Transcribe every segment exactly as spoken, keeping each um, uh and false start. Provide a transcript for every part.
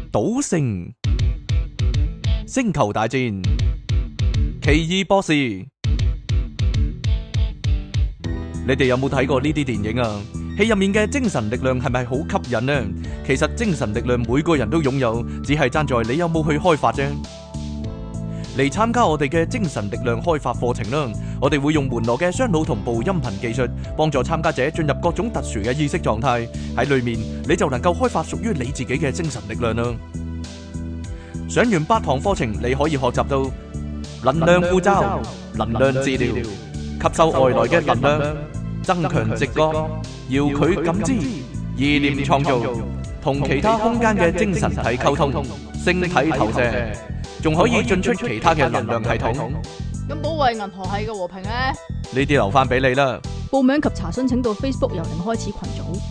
賭聖、星球大戰、奇異博士，你哋有冇睇過呢啲電影啊？戲入面嘅精神力量係咪好吸引呢？其實精神力量每個人都擁有，只係爭在你有冇去開發啫。嚟參加我哋嘅精神力量開發課程啦！我哋會用門羅嘅雙腦同步音頻技術，幫助參加者進入各種特殊嘅意識狀態。喺裏面你就能夠開發屬於你自己嘅精神力量啦！上完八堂課程，你可以學習到能量護罩、能量治療、吸收外來嘅能量、增強直覺、遙距感知、意念創造、同其他空間嘅精神體溝通、星體投射，仲可以進出其他嘅能量系統。 咁保衛銀河系嘅和平咧？ 呢啲留翻俾你啦。 報名及查詢請到 Facebook 由零開始群組。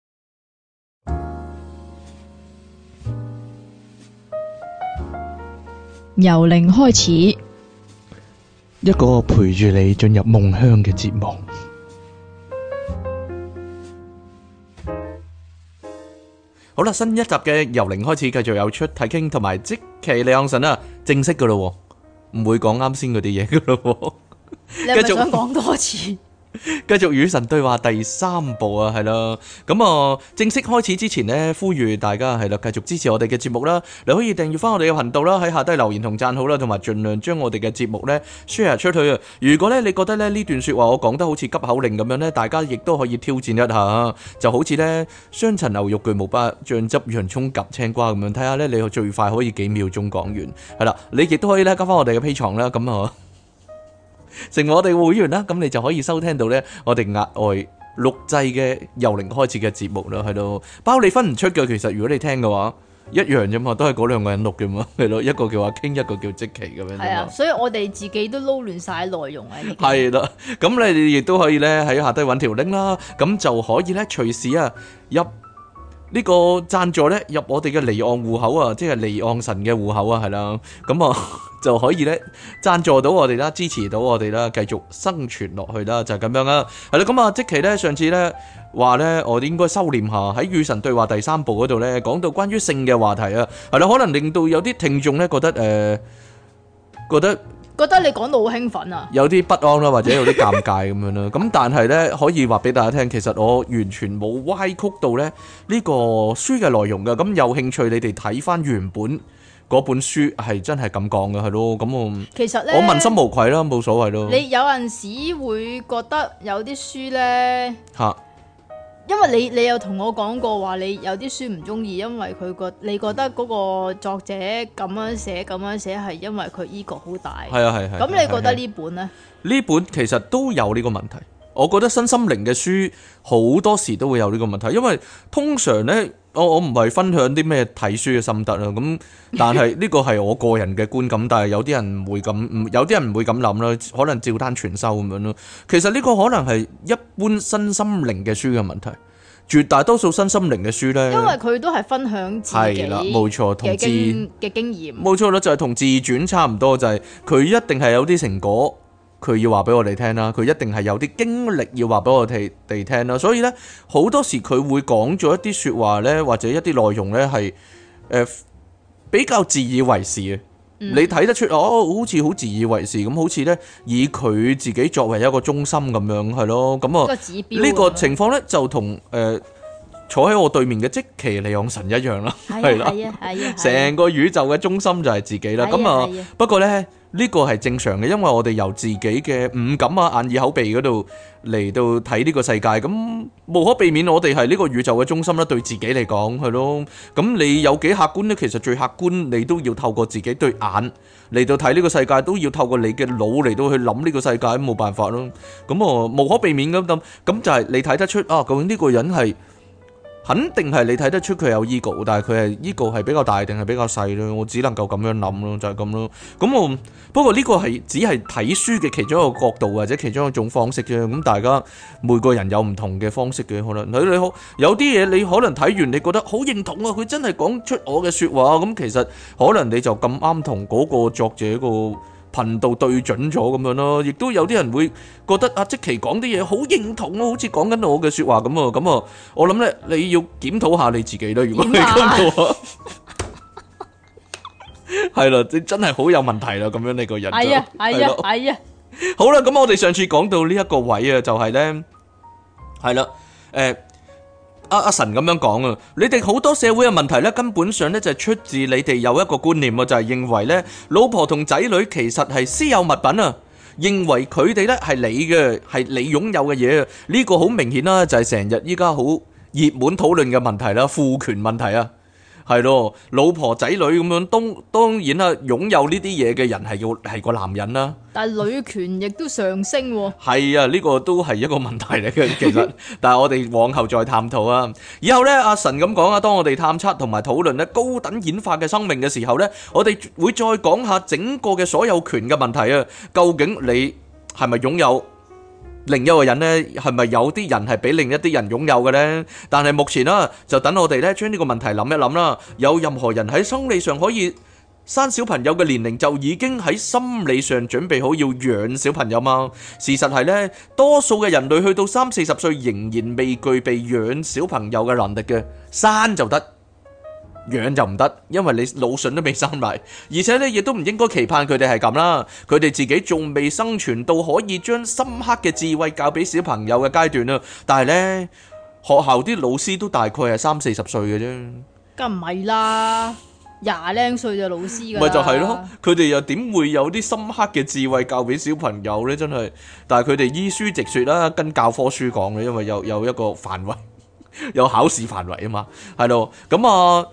由零開始， 一個陪住你進入夢鄉嘅節目。好啦，新一集嘅由零開始，繼續有出體傾同埋即期李昂臣啊，正式噶咯，唔會講啱先嗰啲嘢噶咯。 你係咪想講多次？ 繼續與神對話第三部啊，係啦，咁啊正式開始之前呢，呼籲大家係啦，繼續支持我哋嘅節目啦，你可以訂閱翻我哋嘅頻道啦，喺下低留言同讚好啦，同埋盡量將我哋嘅節目呢 share 出去啊！如果咧你覺得咧呢段說話我講得好似急口令咁樣呢，大家亦都可以挑戰一下，就好似呢雙層牛肉巨無霸醬汁洋葱夾青瓜咁樣，睇下呢你最快可以幾秒鐘講完，係啦，你亦都可以咧加翻我哋嘅 Patreon啦，咁啊。成為我哋會員啦，咁你就可以收聽到咧我哋額外錄製嘅由零開始嘅節目啦，係咯，包你分唔出嘅。其實如果你聽嘅話，一樣啫嘛，都係嗰兩個人錄嘅嘛，係咯，一個叫阿傾，一個叫即期咁樣。 係啊，所以我哋自己都撈亂晒內容啊。 係啦，咁你哋亦都可以咧喺下低揾條 link 啦，咁就可以咧隨時啊入呢個贊助咧入我哋嘅離岸戶口啊，即係離岸神嘅戶口啊，係啦，咁啊。就可以咧贊助到我哋啦，支持到我哋啦，繼續生存落去啦，就係咁樣啦。係啦，咁啊，即期咧上次咧話咧，我哋應該收斂下喺與神對話第三部嗰度咧，講到關於性嘅話題啊，係啦，可能令到有啲聽眾咧覺得誒、呃，覺得覺得你講到好興奮啊， 有啲不安啦，或者有啲尷尬咁樣啦。咁但係咧可以話俾大家聽，其實我完全冇歪曲到咧呢個書嘅內容噶。咁有興趣你哋睇翻原本。嗰本書係真係咁講嘅，係咯，咁我其實咧， 我問心無愧啦，冇所謂咯。 你有陣時會覺得有啲書咧嚇， 因為你你有同我講過話，你有啲書唔中意，因為佢覺你覺得嗰個作者咁樣寫咁樣寫係因為佢 ego 好大。 係啊係係。 咁你覺得呢本咧？ 呢本其實都有呢個問題。我覺得身心靈嘅書好多時都會有呢個問題，因為通常咧。我我唔係分享啲咩睇書嘅心得啦，咁但係呢個係我個人嘅觀感，但係有啲人唔會咁，唔有啲人唔會咁諗啦，可能照單全收咁樣咯。其實呢個可能係一般身心靈嘅書嘅問題，絕大多數身心靈嘅書咧， 因為佢都係分享自己係啦，冇錯，同自嘅經驗， 冇錯啦，就係同自傳差唔多，就係佢一定係有啲成果。佢要話俾我哋聽啦，佢一定係有啲經歷要話俾我哋哋聽啦，所以咧好多時佢會講咗一啲説話咧，或者一啲內容咧係誒比較自以為是嘅。嗯、你睇得出哦，好似好自以為是咁，好似咧以佢自己作為一個中心咁樣，係咯，咁啊呢個情況咧就同誒、呃、坐喺我對面嘅即其利昂神一樣啦，係啦，係啊，係啊，成個宇宙嘅中心就係自己啦，咁啊不過咧。呢個係正常嘅，因為我哋由自己嘅五感啊、眼耳口鼻嗰度嚟到睇呢個世界，咁無可避免我哋係呢個宇宙嘅中心啦。對自己嚟講係咯，咁你有幾客觀呢？其實最客觀，你都要透過自己對眼嚟到睇呢個世界，都要透過你嘅腦嚟到去諗呢個世界，冇辦法咯。咁啊，無可避免咁咁，咁就係你睇得出啊，究竟呢個人係。肯定係你睇得出佢有 ego， 但係佢係 ego 係比較大定係比較細咯？我只能夠咁樣諗咯，就係咁咯。咁我不過呢個係只係睇書嘅其中一個角度或者其中一種方式啫。咁大家每個人有唔同嘅方式嘅，可能你你好有啲嘢你可能睇完你覺得好認同啊，佢真係講出我嘅說話。咁其實可能你就咁啱同嗰個作者個頻道對準咗咁樣咯，亦都有啲人會覺得阿即奇講啲嘢好認同啊，好似講緊我嘅說話咁啊，咁啊，我諗咧你要檢討下你自己啦。如果你咁嘅話， 係啦，你真係好有問題啦，咁樣你個人就係啊係啊係咯係啊， 好啦，咁我哋上次講到呢一個位啊，就係咧，係啦，誒。阿阿神咁樣講啊，你哋好多社會嘅問題咧，根本上咧就係出自你哋有一個觀念啊，就係認為咧，老婆同仔女其實係私有物品啊，認為佢哋咧係你嘅，係你擁有嘅嘢啊，呢個好明顯啦，就係成日依家好熱門討論嘅問題啦，父權問題啊。係咯，老婆仔女咁樣，當當然啦，擁有呢啲嘢嘅人係要係個男人啦。 但係女權亦都上升喎。 係啊，呢個都係一個問題嚟嘅，其實。但係我哋往後再探討啊。以後呢，阿神咁講啊，當我哋探測同埋討論咧高等演化嘅生命嘅時候呢，我哋會再講下整個嘅所有權嘅問題啊。究竟你係咪擁有？另一個人呢，係咪有啲人係俾另一啲人擁有嘅呢？但係目前啦，就等我哋咧將呢個問題諗一諗啦。有任何人喺生理上可以生小朋友嘅年齡，就已經喺心理上準備好要養小朋友嗎？事實係呢，多數嘅人類去到三四十歲仍然未具備養小朋友嘅能力嘅，生就得。養就唔得，因為你腦筍都未生埋，而且咧亦都唔應該期盼佢哋係咁啦。佢哋自己仲未生存到可以將深刻嘅智慧教俾小朋友嘅階段啊。但係呢，學校啲老師都大概係三四十歲嘅啫， 梗唔係啦，廿零歲就老師噶啦。 咪就係咯，佢哋又點會有啲深刻嘅智慧教俾小朋友呢？真係，但係佢哋依書直說啦，跟教科書講嘅，因為有有一個範圍，有考試範圍啊嘛，係咯，咁啊。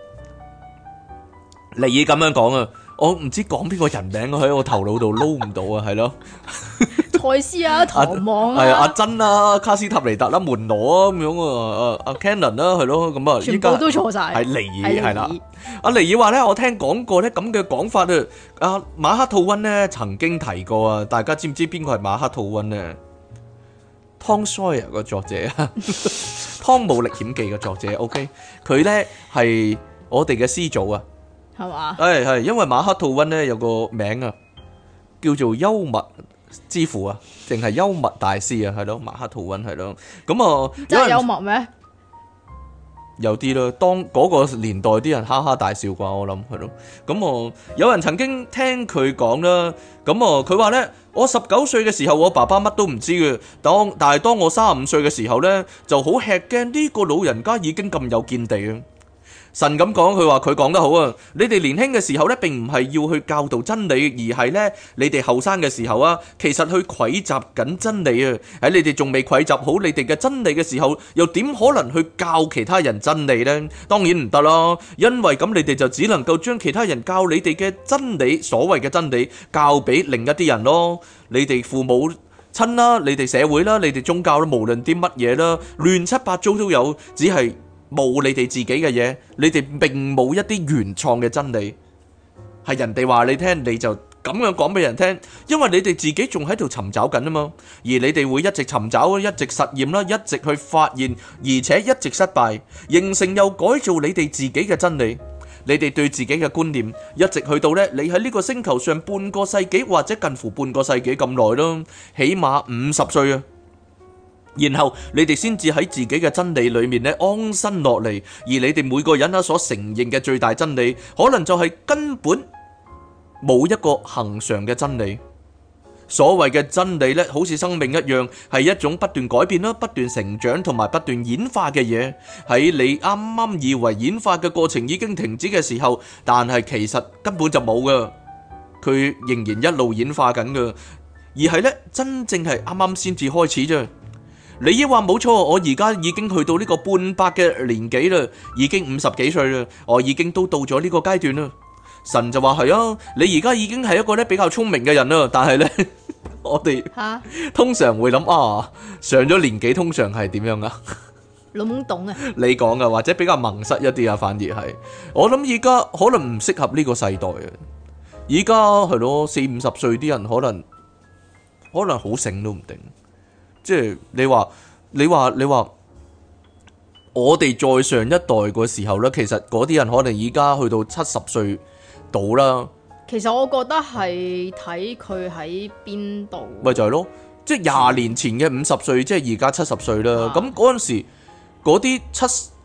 尼爾咁樣講啊，我唔知講邊個人名喺我頭腦度撈唔到啊，係咯， 賽斯啊，唐望啊， 係啊，阿珍啊，卡斯塔尼達啦，門羅啊咁樣啊，阿阿 Cannon 啦，係咯，咁啊， 全部都錯晒， 係尼爾係啦，阿尼爾話咧，我聽講過咧咁嘅講法啊，阿馬克吐溫咧曾經提過啊，大家知唔知邊個係馬克吐溫咧？湯塞爾個作者啊，《湯姆歷險記》嘅作者 ，OK，佢咧係我哋嘅師祖啊。 係嘛？ 係係，因為馬克吐溫咧有個名啊，叫做幽默之父啊，定係幽默大師啊，係咯，馬克吐溫係咯。咁啊， 真係幽默咩？ 有啲啦，當嗰個年代啲人哈哈大笑啩，我諗係咯。咁啊，有人曾經聽佢講啦，咁啊，佢話咧，我十九歲嘅時候，我爸爸乜都唔知嘅，當但係當我三十五歲嘅時候咧，就好吃驚呢個老人家已經咁有見地啊。神咁講，佢話佢講得好啊！你哋年輕嘅時候咧，並唔係要去教導真理，而係咧你哋後生嘅時候啊，其實去蒐集緊真理啊！喺你哋仲未蒐集好你哋嘅真理嘅時候，又點可能去教其他人真理呢？當然唔得啦，因為咁你哋就只能夠將其他人教你哋嘅真理，所謂嘅真理，教俾另一啲人咯。你哋父母親啦，你哋社會啦，你哋宗教啦，無論啲乜嘢啦，亂七八糟都有，只係冇你哋自己嘅嘢，你哋並冇一啲原創嘅真理，係人哋話你聽，你就咁樣講俾人聽，因為你哋自己仲喺度尋找緊啊嘛，而你哋會一直尋找，一直實驗啦，一直去發現，而且一直失敗，形成又改造你哋自己嘅真理，你哋對自己嘅觀念，一直去到呢，你喺呢個星球上半個世紀或者近乎半個世紀咁耐咯，起碼五十歲啊！然後你哋先至喺自己嘅真理裏面咧安身落嚟，而你哋每個人啊所承認嘅最大真理，可能就係根本冇一個恆常嘅真理。所謂嘅真理咧，好似生命一樣，係一種不斷改變啦、不斷成長同埋不斷演化嘅嘢。喺你啱啱以為演化嘅過程已經停止嘅時候，但係其實根本就冇噶，佢仍然一路演化緊噶，而係咧真正係啱啱先至開始啫。你亦話冇錯，我而家已經去到呢個半百嘅年紀啦，已經五十幾歲啦，我已經都到咗呢個階段啦。神就話係啊，你而家已經係一個咧比較聰明嘅人啦，但係咧我哋通常會諗啊，上咗年紀通常係點樣啊？ 老懵懂啊！ 你講噶，或者比較矇塞一啲啊，反而係我諗而家可能唔適合呢個世代啊。而家係咯，四五十歲啲人可能可能好醒都唔定。即係你話你話你話我哋再上一代嘅時候咧，其實嗰啲人可能而家去到七十歲到啦。 其實我覺得係睇佢喺邊度， 咪就係咯，即係廿年前嘅五十歲，即係而家七十歲啦。咁嗰陣時嗰啲七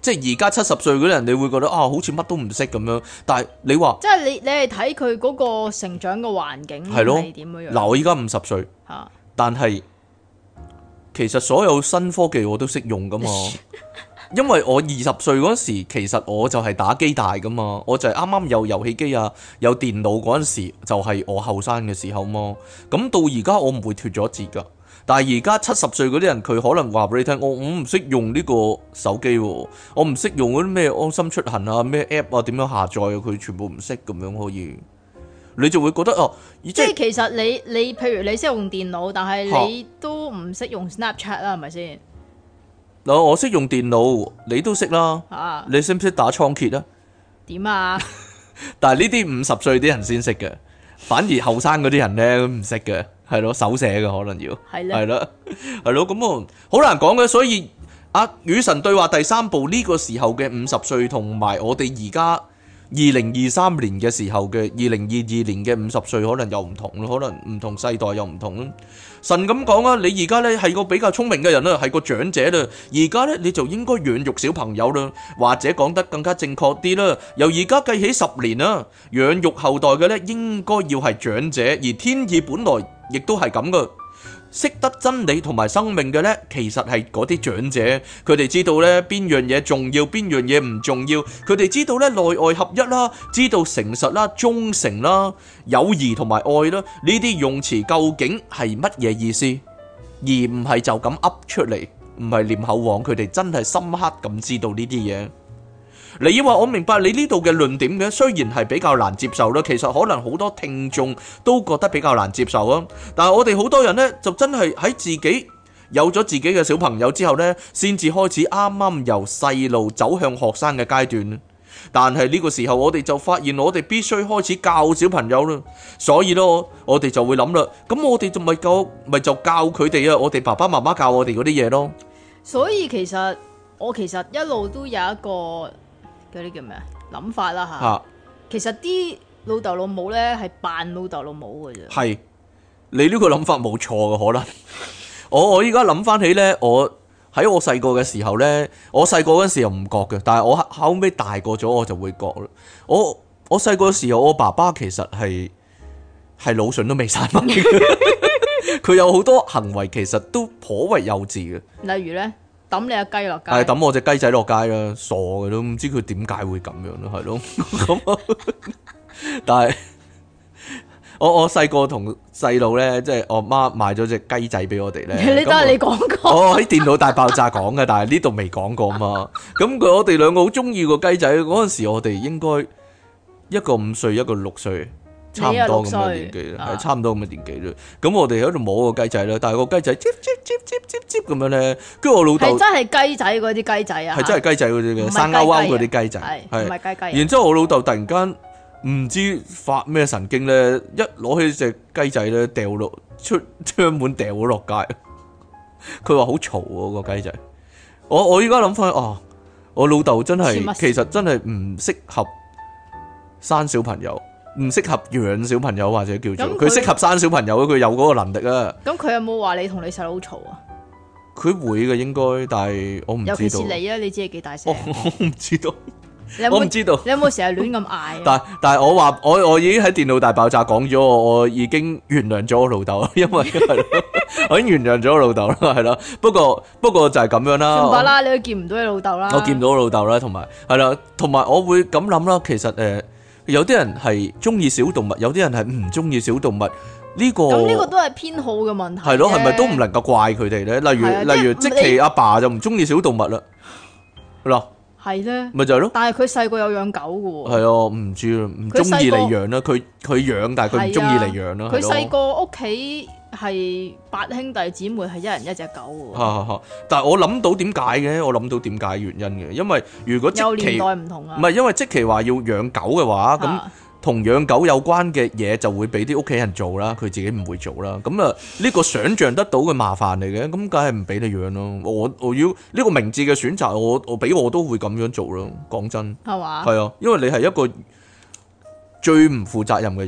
即係而家七十歲嗰啲人，你會覺得啊，好似乜都唔識咁樣。但係你話即係你你係睇佢嗰個成長嘅環境係咯係點樣樣？ 嗱，我依家五十歲， 嚇但係其實所有新科技我都識用噶嘛。因為我二十歲嗰時，其實我就係打機大噶嘛，我就係啱啱有遊戲機啊，有電腦嗰陣時，就係我後生嘅時候嘛。咁到而家我唔會脫咗節噶，但係而家七十歲嗰啲人，佢可能話俾你聽，我我唔識用呢個手機喎，我唔識用嗰啲咩安心出行啊、咩 app 啊、點樣下載啊，佢全部唔識咁樣可以，你就會覺得哦，即即係其實你你譬如你識用電腦，但係你都唔識用 Snapchat 啦，係咪先？ 嗱，我識用電腦，你都識啦。 啊， 你識唔識打倉頡啊？ 點啊？ 但係呢啲五十歲啲人先識嘅，反而後生嗰啲人咧唔識嘅，係咯，手寫嘅可能要， 係咧， 係咯，係咯，咁啊好難講嘅。所以啊，與神對話第三部呢個時候嘅五十歲，同埋我哋而家二零二三年嘅時候嘅二零二二年嘅五十歲，可能又唔同咯，可能唔同世代又唔同咯。神咁講啊，你而家咧係個比較聰明嘅人啦，係個長者啦，而家咧你就應該養育小朋友啦，或者講得更加正確啲啦，由而家計起十年啦，養育後代嘅咧應該要係長者，而天意本來亦都係咁噶。識得真理同埋生命嘅呢，其實係嗰啲長者，佢哋知道呢邊樣嘢重要，邊樣嘢唔重要，佢哋知道呢內外合一啦，知道誠實啦、忠誠啦、友誼同埋愛啦，呢啲用詞究竟係乜嘢意思，而唔係就咁噏出嚟，唔係念口簧，佢哋真係深刻咁知道呢啲嘢。你以為我明白你呢度嘅論點嘅，雖然係比較難接受啦，其實可能好多聽眾都覺得比較難接受啊。但係我哋好多人呢，就真係喺自己有咗自己嘅小朋友之後呢，先至開始啱啱由細路走向學生嘅階段。但係呢個時候，我哋就發現我哋必須開始教小朋友啦。所以咯，我哋就會諗啦，咁我哋就咪教咪就教佢哋啊，我哋爸爸媽媽教我哋嗰啲嘢咯。 所以其實我其實一路都有一個嗰啲叫咩啊諗法啦吓， 嚇其實啲老豆老母咧係扮老豆老母嘅啫。 係你呢個諗法冇錯嘅，可能我我依家諗翻起咧，我喺我細個嘅時候咧，我細個嗰陣時又唔覺嘅，但係我後尾大個咗我就會覺啦。我我細個嘅時候，我爸爸其實係係腦筍都未生埋，佢有好多行為其實都頗為幼稚嘅。 例如咧，抌你隻雞落街， 係抌我隻雞仔落街啦，傻嘅都唔知佢點解會咁樣咯，係咯。咁但係我我細個同細路咧，即係我媽買咗隻雞仔俾我哋咧。 你都係你講過， 我喺電腦大爆炸講嘅，但係呢度未講過嘛。咁佢我哋兩個好中意個雞仔，嗰陣時我哋應該一個五歲，一個六歲。差唔多咁嘅年紀啦，係差唔多咁嘅年紀啦。咁我哋喺度摸個雞仔啦，但係個雞仔接接接接接接咁樣咧，跟住我老豆係真係雞仔嗰啲雞仔啊， 係真係雞仔嗰啲嘅生勾勾嗰啲雞仔， 係唔係雞雞？ 然之後我老豆突然間唔知發咩神經咧，一攞起隻雞仔咧掉落出窗門掉咗落街，佢話好嘈喎個雞仔。我我依家諗翻啊，我老豆真係其實真係唔適合生小朋友。唔適合養小朋友或者叫做佢適合生小朋友，佢有嗰個能力啊。 咁佢有冇話你同你細佬嘈啊？ 佢會嘅應該，但係我唔知道。尤其是你啊，你知係幾大聲？ 我唔知道， 你有冇我唔知道。 你有冇成日亂咁嗌？ 但但係我話我我已經喺電腦大爆炸講咗，我我已經原諒咗我老豆，因為係我已經原諒咗我老豆啦，係咯。不過不過就係咁樣啦。 算吧啦，你都見唔到你老豆啦。 我見唔到我老豆啦，同埋係啦，同埋我會咁諗啦。其實誒。呃有啲人係中意小動物，有啲人係唔中意小動物。呢、這個咁呢個都係偏好嘅問題。 係咯，係咪都唔能夠怪佢哋咧？例如例如，即其阿爸就唔中意小動物啦。嗱， 係咧， 咪就係咯。 但係佢細個有養狗嘅喎。 係啊，唔知啊，唔中意嚟養啦。佢佢養，但係佢唔中意嚟養啦。 佢細個屋企係八兄弟姊妹，係一人一隻狗喎。 但係我諗到點解嘅？我諗到點解原因嘅，因為如果即其年代唔同啊， 唔係因為即其話要養狗嘅話，咁同養狗有關嘅嘢就會俾啲屋企人做啦，佢自己唔會做啦。咁啊，呢個想像得到嘅麻煩嚟嘅，咁梗係唔俾你養咯。我我要呢個明智嘅選擇，我我俾我都會咁樣做咯。講真， 係嘛？ 係啊，因為你係一個最唔負責任嘅人。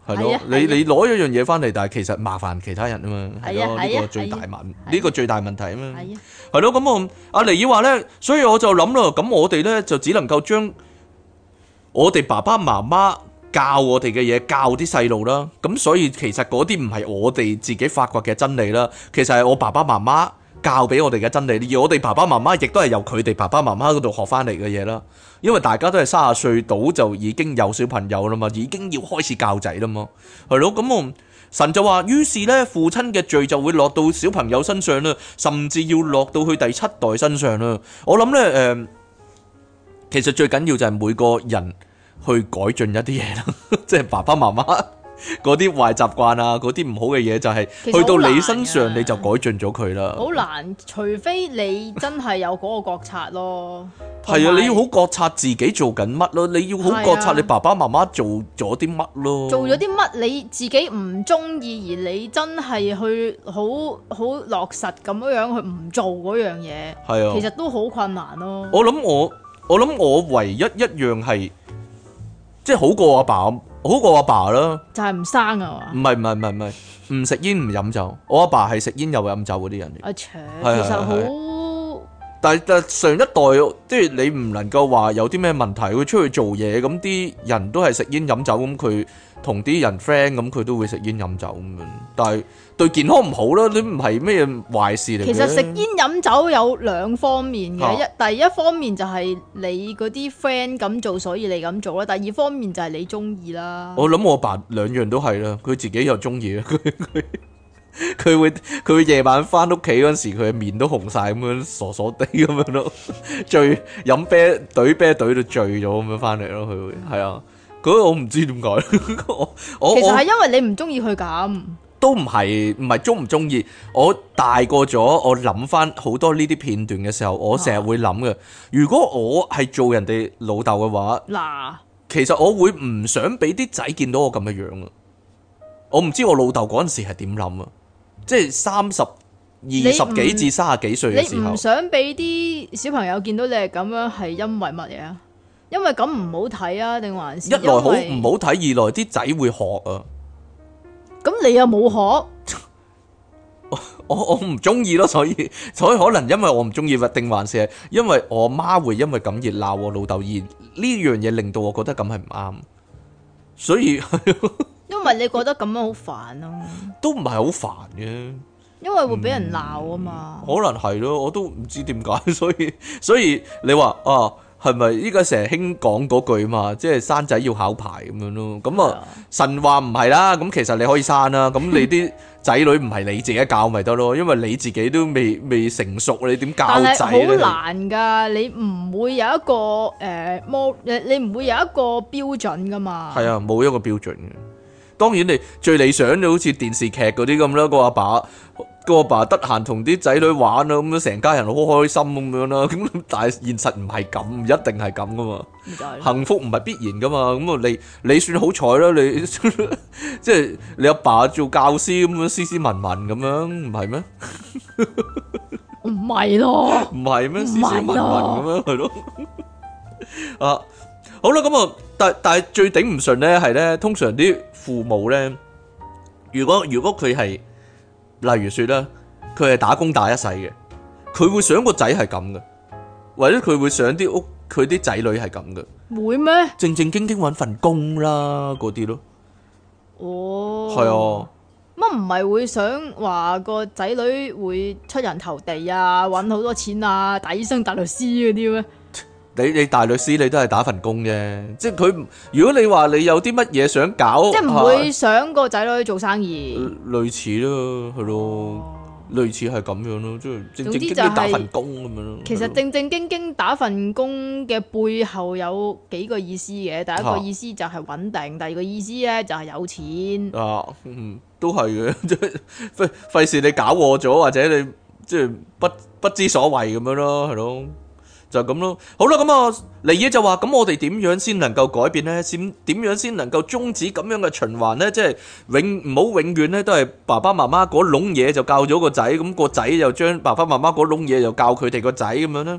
係咯係啊， 你你攞一樣嘢翻嚟，但係其實麻煩其他人啊嘛，係咯，呢係啊係啊個最大問， 係啊呢個最大問題啊嘛， 係啊， 係咯，咁我阿尼爾話咧，所以我就諗啦，咁我哋咧就只能夠將我哋爸爸媽媽教我哋嘅嘢教啲細路啦，咁所以其實嗰啲唔係我哋自己發掘嘅真理啦，其實係我爸爸媽媽教俾我哋嘅真理，而我哋爸爸媽媽亦都係由佢哋爸爸媽媽嗰度學翻嚟嘅嘢啦。因為大家都係三十歲到就已經有小朋友啦嘛，已經要開始教仔啦嘛，係咯。咁我神就話，於是咧父親嘅罪就會落到小朋友身上啦，甚至要落到去第七代身上啦。我諗咧誒，其實最緊要就係每個人去改進一啲嘢啦，即係爸爸媽媽嗰啲壞習慣啊，嗰啲唔好嘅嘢就係其實去到你好難身上㗎你就改進咗佢啦。 好難，除非你真係有嗰個覺察咯。 係啊， 同埋你要好覺察自己做緊乜咯，你要好覺察你爸爸媽媽做咗啲乜咯。 做咗啲乜你自己唔中意，而你真係去好好落實咁樣樣去唔做嗰樣嘢， 係啊， 其實都好困難咯。 我諗我我諗我唯一一樣係即係好過阿爸，好過阿爸啦。 就係唔生啊嘛唔。係唔係唔係唔係，唔食煙唔飲酒。我阿爸係食煙又飲酒嗰啲人嚟。 阿扯， 係係其實好但係但係上一代即係你唔能夠話有啲咩問題，佢出去做嘢咁啲人都係食煙飲酒，咁佢同啲人 friend 咁佢都會食煙飲酒咁樣，但係對健康唔好啦，你唔係咩壞事嚟嘅。 其實食煙飲酒有兩方面嘅，一、 啊第一方面就係你嗰啲 friend 咁做，所以你咁做啦；第二方面就係你中意啦。 我諗我阿爸兩樣都係啦，佢自己又中意啦，佢佢佢會佢會夜晚翻屋企嗰時，佢嘅面都紅晒咁樣，傻傻地咁樣咯，醉飲啤懟啤懟到醉咗咁樣翻嚟咯，佢會係啊，嗰我唔知點解，我我其實係我因為你唔中意佢咁。 都唔係唔係中唔中意，我大個咗，我諗翻好多呢啲片段嘅時候，我成日會諗嘅，如果我係做人哋老豆嘅話， 嗱， 其實我會唔想俾啲仔見到我咁嘅樣啊！我唔知我老豆嗰陣時係點諗啊，即係三十二十幾至三十幾歲嘅時候你唔，想俾啲小朋友見到你係咁樣，係因為乜嘢啊？因為咁唔好睇啊，定還是一來好因為唔好睇，二來啲仔會學啊！ 咁你又冇學， 我我唔中意咯，所以所以可能因為我唔中意，定還是係因為我媽會因為咁而鬧我老豆，而呢樣嘢令到我覺得咁係唔啱，所以因為你覺得咁樣好煩咯， 都唔係好煩嘅。 因為會俾人鬧啊嘛。 可能係咯，我都唔知點解，所以所以你話啊，係咪依家成日興講嗰句嘛，即係生仔要考牌咁樣咯？咁啊，神話唔係啦，咁其實你可以生啦，咁你啲仔女唔係你自己教咪得咯，因為你自己都未未成熟，你點教但仔咧？ 係好難㗎，你唔會有一個誒模，誒你唔會有一個標準㗎嘛。 係啊，冇一個標準嘅。當然你最理想就好似電視劇嗰啲咁啦，個阿爸個阿爸得閒同啲仔女玩啦，咁樣成家人好開心咁樣啦。咁但係現實唔係咁，唔一定係咁噶嘛。 咪就係幸福唔係必然噶嘛。咁啊，你你算好彩啦，你即係你阿爸做教師咁樣斯斯文文咁樣，唔係咩？ 唔係咯， 唔係咩？ 唔係斯斯文文咯咁樣係咯。啊，好啦，咁啊，但但係最頂唔順咧係咧，通常啲父母咧，如果如果佢係，例如說啦，佢係打工打一世嘅，佢會想個仔係咁嘅，或者佢會想啲屋佢啲仔女係咁嘅， 會咩？ 正正經經揾份工啦，嗰啲咯， 哦， 係啊。 乜唔係會想話個仔女會出人頭地啊，揾好多錢啊，大醫生、大律師嗰啲咩？ 你你大律師你都係打份工啫，即係佢如果你話你有啲乜嘢想搞， 即係唔會想個仔女做生意。 啊類似咯，係咯。 哦類似係咁樣咯，即係正正經經總之就係打份工咁樣咯。 其實正正經經打份工嘅背後有幾個意思嘅，第一個意思就係穩定，第二個意思咧就係有錢。 啊，嗯，都係嘅，即係費費事你搞錯咗，或者你即係不不知所謂咁樣咯，係咯，就咁咯。好啦，咁啊，尼爾就話：咁我哋點樣先能夠改變咧？先點樣先能夠終止咁樣嘅循環咧？即係永唔好永遠咧都係爸爸媽媽嗰籠嘢就教咗個仔，咁個仔又將爸爸媽媽嗰籠嘢又教佢哋個仔咁樣咧。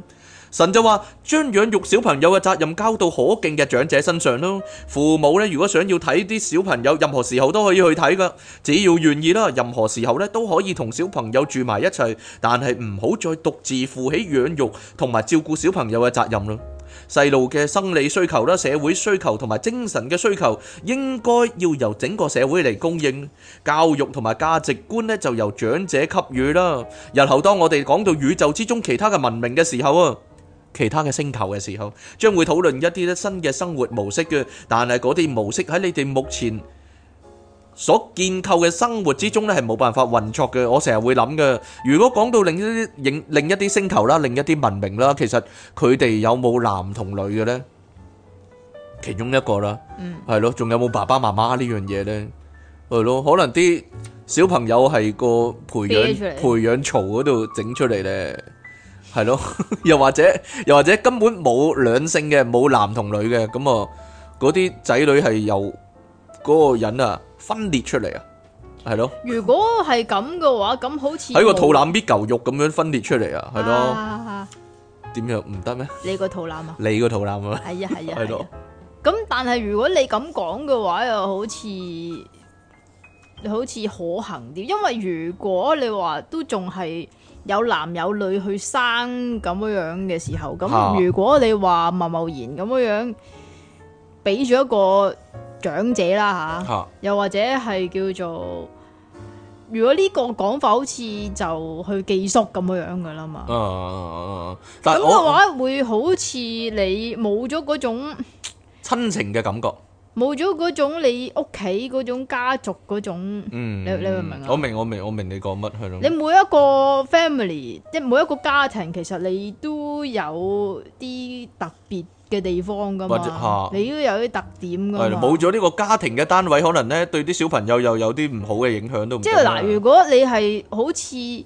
神就話將養育小朋友嘅責任交到可敬嘅長者身上咯。父母咧，如果想要睇啲小朋友，任何時候都可以去睇噶，只要願意啦。任何時候咧都可以同小朋友住埋一齊，但係唔好再獨自負起養育同埋照顧小朋友嘅責任啦。細路嘅生理需求啦、社會需求同埋精神嘅需求，應該要由整個社會嚟供應。教育同埋價值觀咧，就由長者給予啦。日後當我哋講到宇宙之中其他嘅文明嘅時候啊，其他嘅星球嘅時候，將會討論一啲咧新嘅生活模式嘅，但係嗰啲模式喺你哋目前所建構嘅生活之中咧係冇辦法運作嘅。我成日會諗嘅，如果講到另一啲另另一啲星球啦，另一啲文明啦，其實佢哋有冇男同女嘅呢？其中一個啦，係咯，仲有冇爸爸媽媽呢樣嘢呢？係咯，可能啲小朋友係個培養培養槽嗰度整出嚟呢。係咯，又或者又或者根本冇兩性嘅，冇男同女嘅，咁啊嗰啲仔女係由嗰個人啊分裂出嚟啊，係咯。如果係咁嘅話，咁好似喺個肚腩搣嚿肉咁樣分裂出嚟啊，係咯。點樣唔得咩？ 你個肚腩啊？ 你個肚腩啊？ 係啊係啊。 係咯。 咁但係如果你咁講嘅話，又好似好似可行啲，因為如果你話都仲係有男有女去生咁樣嘅時候，咁如果你話貿貿然咁樣俾咗一個長者啦吓，又或者係叫做，如果呢個講法好似就去寄宿咁樣噶啦嘛，咁嘅話會好似你冇咗嗰種親情嘅感覺。 冇咗嗰種你屋企嗰種家族嗰種，嗯，你你明唔明啊？ 我明我明我明你講乜係咯？ 你每一個 family，即係每一個家庭，其實你都有啲特別嘅地方噶嘛，你都有啲特點噶嘛。 係冇咗呢個家庭嘅單位，可能咧對啲小朋友又有啲唔好嘅影響都唔。 即係嗱，如果你係好似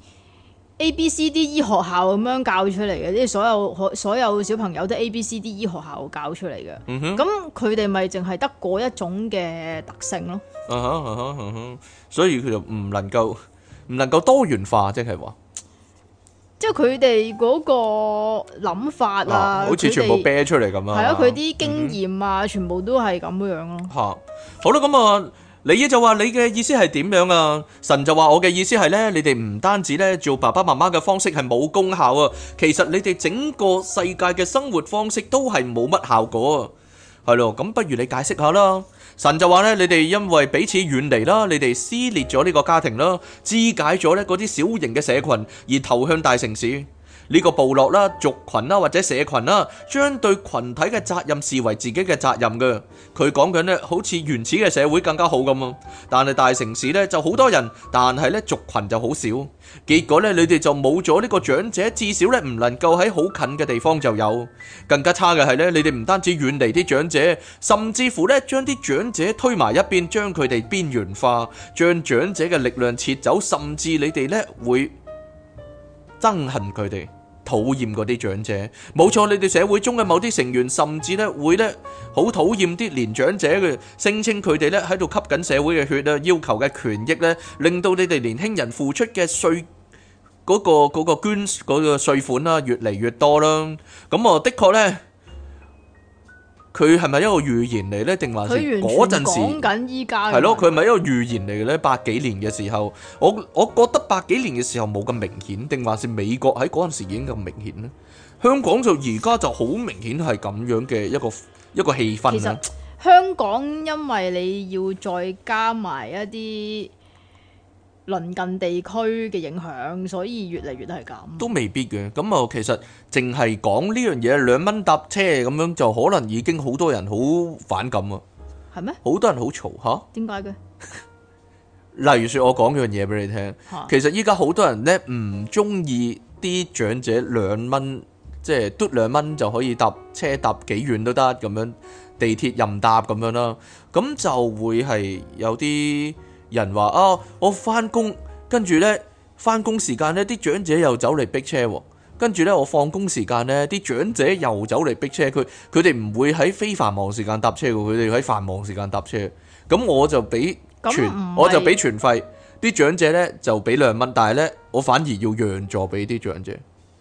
A B C D E 學校咁樣教出嚟嘅，即係所有所有小朋友都 A B C D E 學校教出嚟嘅，咁佢哋咪淨係得嗰一種嘅特性咯。 Uh huh, uh huh, uh huh. 所以佢就唔能夠唔能夠多元化，即係話， 即係佢哋嗰個諗法啊， 啊好似全部啤出嚟咁啊。 係啊，佢啲經驗啊，嗯、全部都係咁樣咯。 吓、啊，好啦，咁啊。你就話你嘅意思係點樣啊？神就話我嘅意思係呢：你哋唔單止呢做爸爸媽媽嘅方式係冇功效啊，其實你哋整個世界嘅生活方式都係冇乜效果啊。係咯，咁不如你解釋下啦。神就話呢：你哋因為彼此遠離啦，你哋撕裂咗呢個家庭啦，肢解咗呢嗰啲小型嘅社群，而投向大城市。呢個部落啦、族群啦或者社群啦，將對群體嘅責任視為自己嘅責任嘅。佢講緊呢，好似原始嘅社會更加好咁啊。但係大城市呢就好多人，但係呢族群就好少。結果呢，你哋就冇咗呢個長者，至少呢唔能夠喺好近嘅地方就有。更加差嘅係呢，你哋唔單止遠離啲長者，甚至乎呢將啲長者推埋一邊，將佢哋邊緣化，將長者嘅力量撤走，甚至你哋呢會憎恨佢哋，討厭嗰啲長者。冇錯，你哋社會中嘅某啲成員甚至咧會咧好討厭啲年長者嘅，聲稱佢哋咧喺度吸緊社會嘅血啊，要求嘅權益咧，令到你哋年輕人付出嘅稅嗰個嗰個捐嗰個稅款啦，越嚟越多啦。咁啊，的確咧。佢係咪一個預言嚟呢？定還是嗰陣時講緊依家？係咯，佢係咪一個預言嚟嘅呢？八幾年嘅時候，我我覺得八幾年嘅時候冇咁明顯，定還是美國喺嗰陣時已經咁明顯呢？香港就而家就好明顯係咁樣嘅一個一個氣氛。其實香港因為你要再加埋一啲鄰近地區嘅影響，所以越嚟越係咁。都未必嘅，咁啊，其實淨係講呢樣嘢兩蚊搭車咁樣，就可能已經好多人好反感啊。 係咩？ 好多人好嘈吓？點解嘅？ 例如說，我講樣嘢俾你聽，其實依家好多人咧唔中意啲長者兩蚊，即係嘟兩蚊就可以搭車搭幾遠都得咁樣，地鐵任搭咁樣啦，咁就會係有啲人話啊，我翻工，跟住呢翻工時間呢啲長者又走嚟逼車，跟住呢我放工時間呢啲長者又走嚟逼車，佢佢哋唔會喺非繁忙時間搭車嘅，佢哋喺繁忙時間搭車，咁我就俾全，我就俾全費，啲長者呢就俾兩蚊，但係呢我反而要讓座俾啲長者。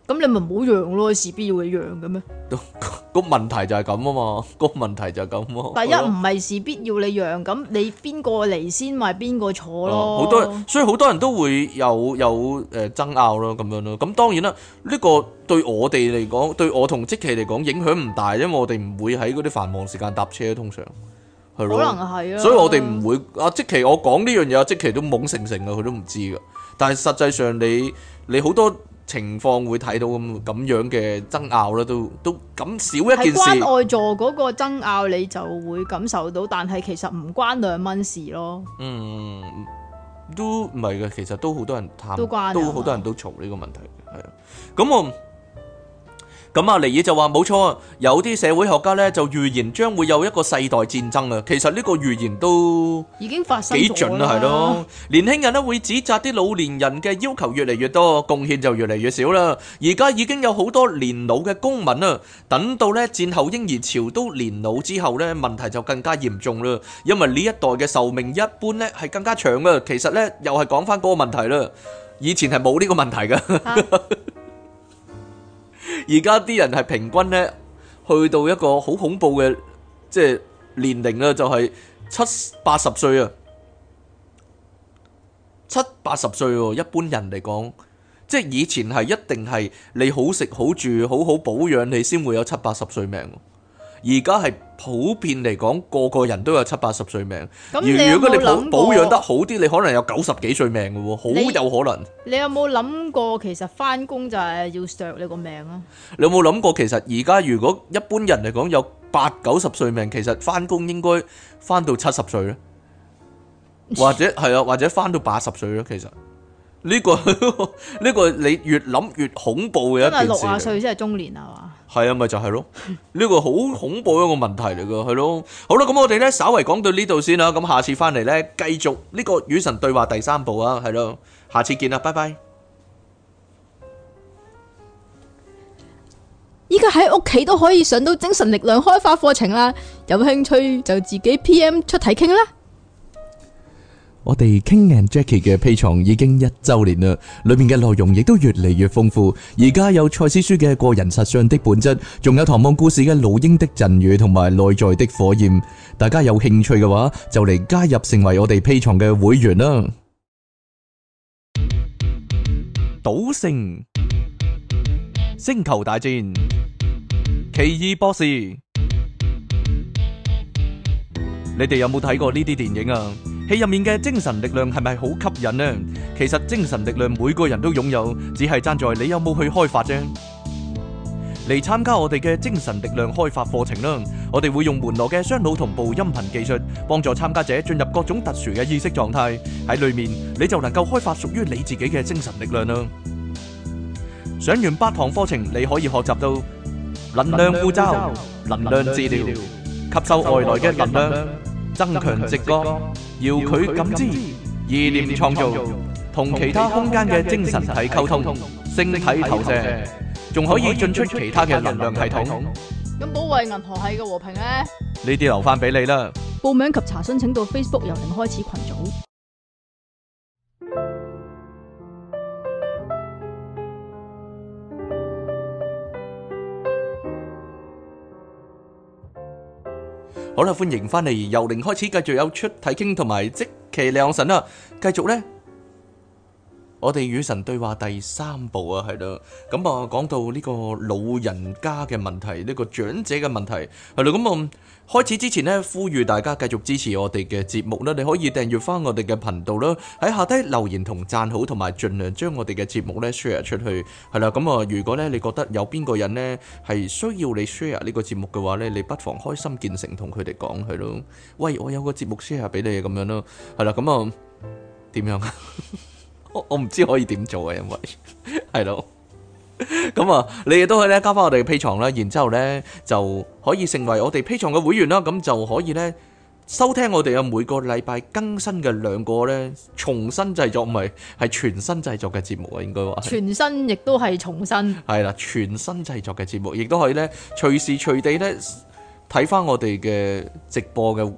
咁你咪唔好讓咯，事必要你讓嘅咩？ 個問題就係咁啊嘛，個問題就係咁啊。 第一唔係事必要你讓，咁你邊個嚟先咪邊個坐咯。 好多人，所以好多人都會有有誒爭拗咯，咁樣咯。咁當然啦，呢個對我哋嚟講，對我同積奇嚟講影響唔大，因為我哋唔會喺嗰啲繁忙時間搭車，通常係咯。 可能係啊。 所以我哋唔會阿積奇，我講呢樣嘢，阿積奇都懵成成啊，佢都唔知噶。但係實際上你你好多情況會睇到咁咁樣嘅爭拗啦，都都咁少一件事。 係關愛座嗰個爭拗，你就會感受到，但係其實唔關兩蚊事咯。 嗯，都唔係嘅，其實都好多人探， 都關都好多人都嘈呢個問題嘅，係啊。咁我咁阿尼爾就話冇錯啊，有啲社會學家咧就預言將會有一個世代戰爭啊。其實呢個預言都已經發生咗幾準啦，係咯。年輕人咧會指責啲老年人嘅要求越嚟越多，貢獻就越嚟越少啦。而家已經有好多年老嘅公民啊，等到咧戰後嬰兒潮都年老之後咧，問題就更加嚴重啦。因為呢一代嘅壽命一般咧係更加長啊。其實咧又係講翻嗰個問題啦，以前係冇呢個問題噶。而家啲人係平均咧，去到一個好恐怖嘅即係年齡啦，就係七八十歲啊，七八十歲喎。一般人嚟講，即係以前係一定係你好食好住好好保養，你先會有七八十歲命。而家係普遍嚟講，個個人都有七八十歲命。 咁你有冇諗過， 如果你保保養得好啲，你可能有九十幾歲命嘅喎，好有可能。 你有冇諗過，其實翻工就係要削你個命啊？ 你有冇諗過，其實而家如果一般人嚟講有八九十歲命，其實翻工應該翻到七十歲咧，或者係啊，或者翻到八十歲咧。其實呢個呢個你越諗越恐怖嘅一件事。 真係六十歲先係中年啊嘛？ 係啊，咪就係咯，呢個好恐怖一個問題嚟噶，係咯。好啦，咁我哋咧稍為講到呢度先啦，咁下次翻嚟咧繼續呢個與神對話第三部啊，係咯，下次見啦，拜拜。 依家喺屋企都可以上到精神力量開發課程啦，有興趣就自己 P M 出題傾啦。 我哋 King and Jackie 嘅 Patreon 已經一周年啦，裏面嘅內容亦都越嚟越豐富。而家有賽斯書嘅個人實相的本質，仲有唐望故事嘅老鷹的贈語同埋內在的火焰。大家有興趣嘅話，就嚟加入成為我哋 Patreon嘅會員啦。 賭聖、星球大戰、奇異博士，你哋有冇睇過呢啲電影啊？戲入面嘅精神力量係咪好吸引呢？其實精神力量每個人都擁有，只係爭在你有冇去開發啫。嚟參加我哋嘅精神力量開發課程啦！我哋會用門羅嘅雙腦同步音頻技術，幫助參加者進入各種特殊嘅意識狀態。喺裏面你就能夠開發屬於你自己嘅精神力量啦！上完八堂課程，你可以學習到能量護罩、能量治療、吸收外來嘅能量、增強直覺、遙距感知、意念創造、同其他空間嘅精神體溝通、星體投射，仲可以進出其他嘅能量系統。 咁保衛銀河系嘅和平呢？ 呢啲留翻俾你啦。 報名及查詢請到 Facebook 由零開始群組。 好啦，歡迎翻嚟，由零開始，繼續有出體傾同埋即其兩神啦。繼續呢，我哋與神對話第三部啊，係啦。咁啊，講到呢個老人家嘅問題，呢個長者嘅問題，係啦。咁啊，開始之前呢，呼籲大家繼續支持我哋嘅節目啦。你可以訂閱翻我哋嘅頻道啦，喺下低留言同讚好，同埋盡量將我哋嘅節目咧 share 出去，係啦。咁啊，如果咧你覺得有邊個人呢係需要你 share 呢個節目嘅話咧，你不妨開心見誠同佢哋講係咯。喂，我有個節目 share 俾你咁樣咯，係啦。咁啊，點樣啊？我我唔知可以點做啊，因為係咯。咁啊，你亦都可以咧加翻我哋嘅 Patreon啦，然之後咧就可以成為我哋 Patreon 嘅會員啦，咁就可以咧收聽我哋嘅每個禮拜更新嘅兩個咧重新製作，唔係係全新製作嘅節目啊，應該話全新亦都係重新， 係啦，全新製作嘅節目，亦都可以咧隨時隨地咧睇翻我哋嘅直播嘅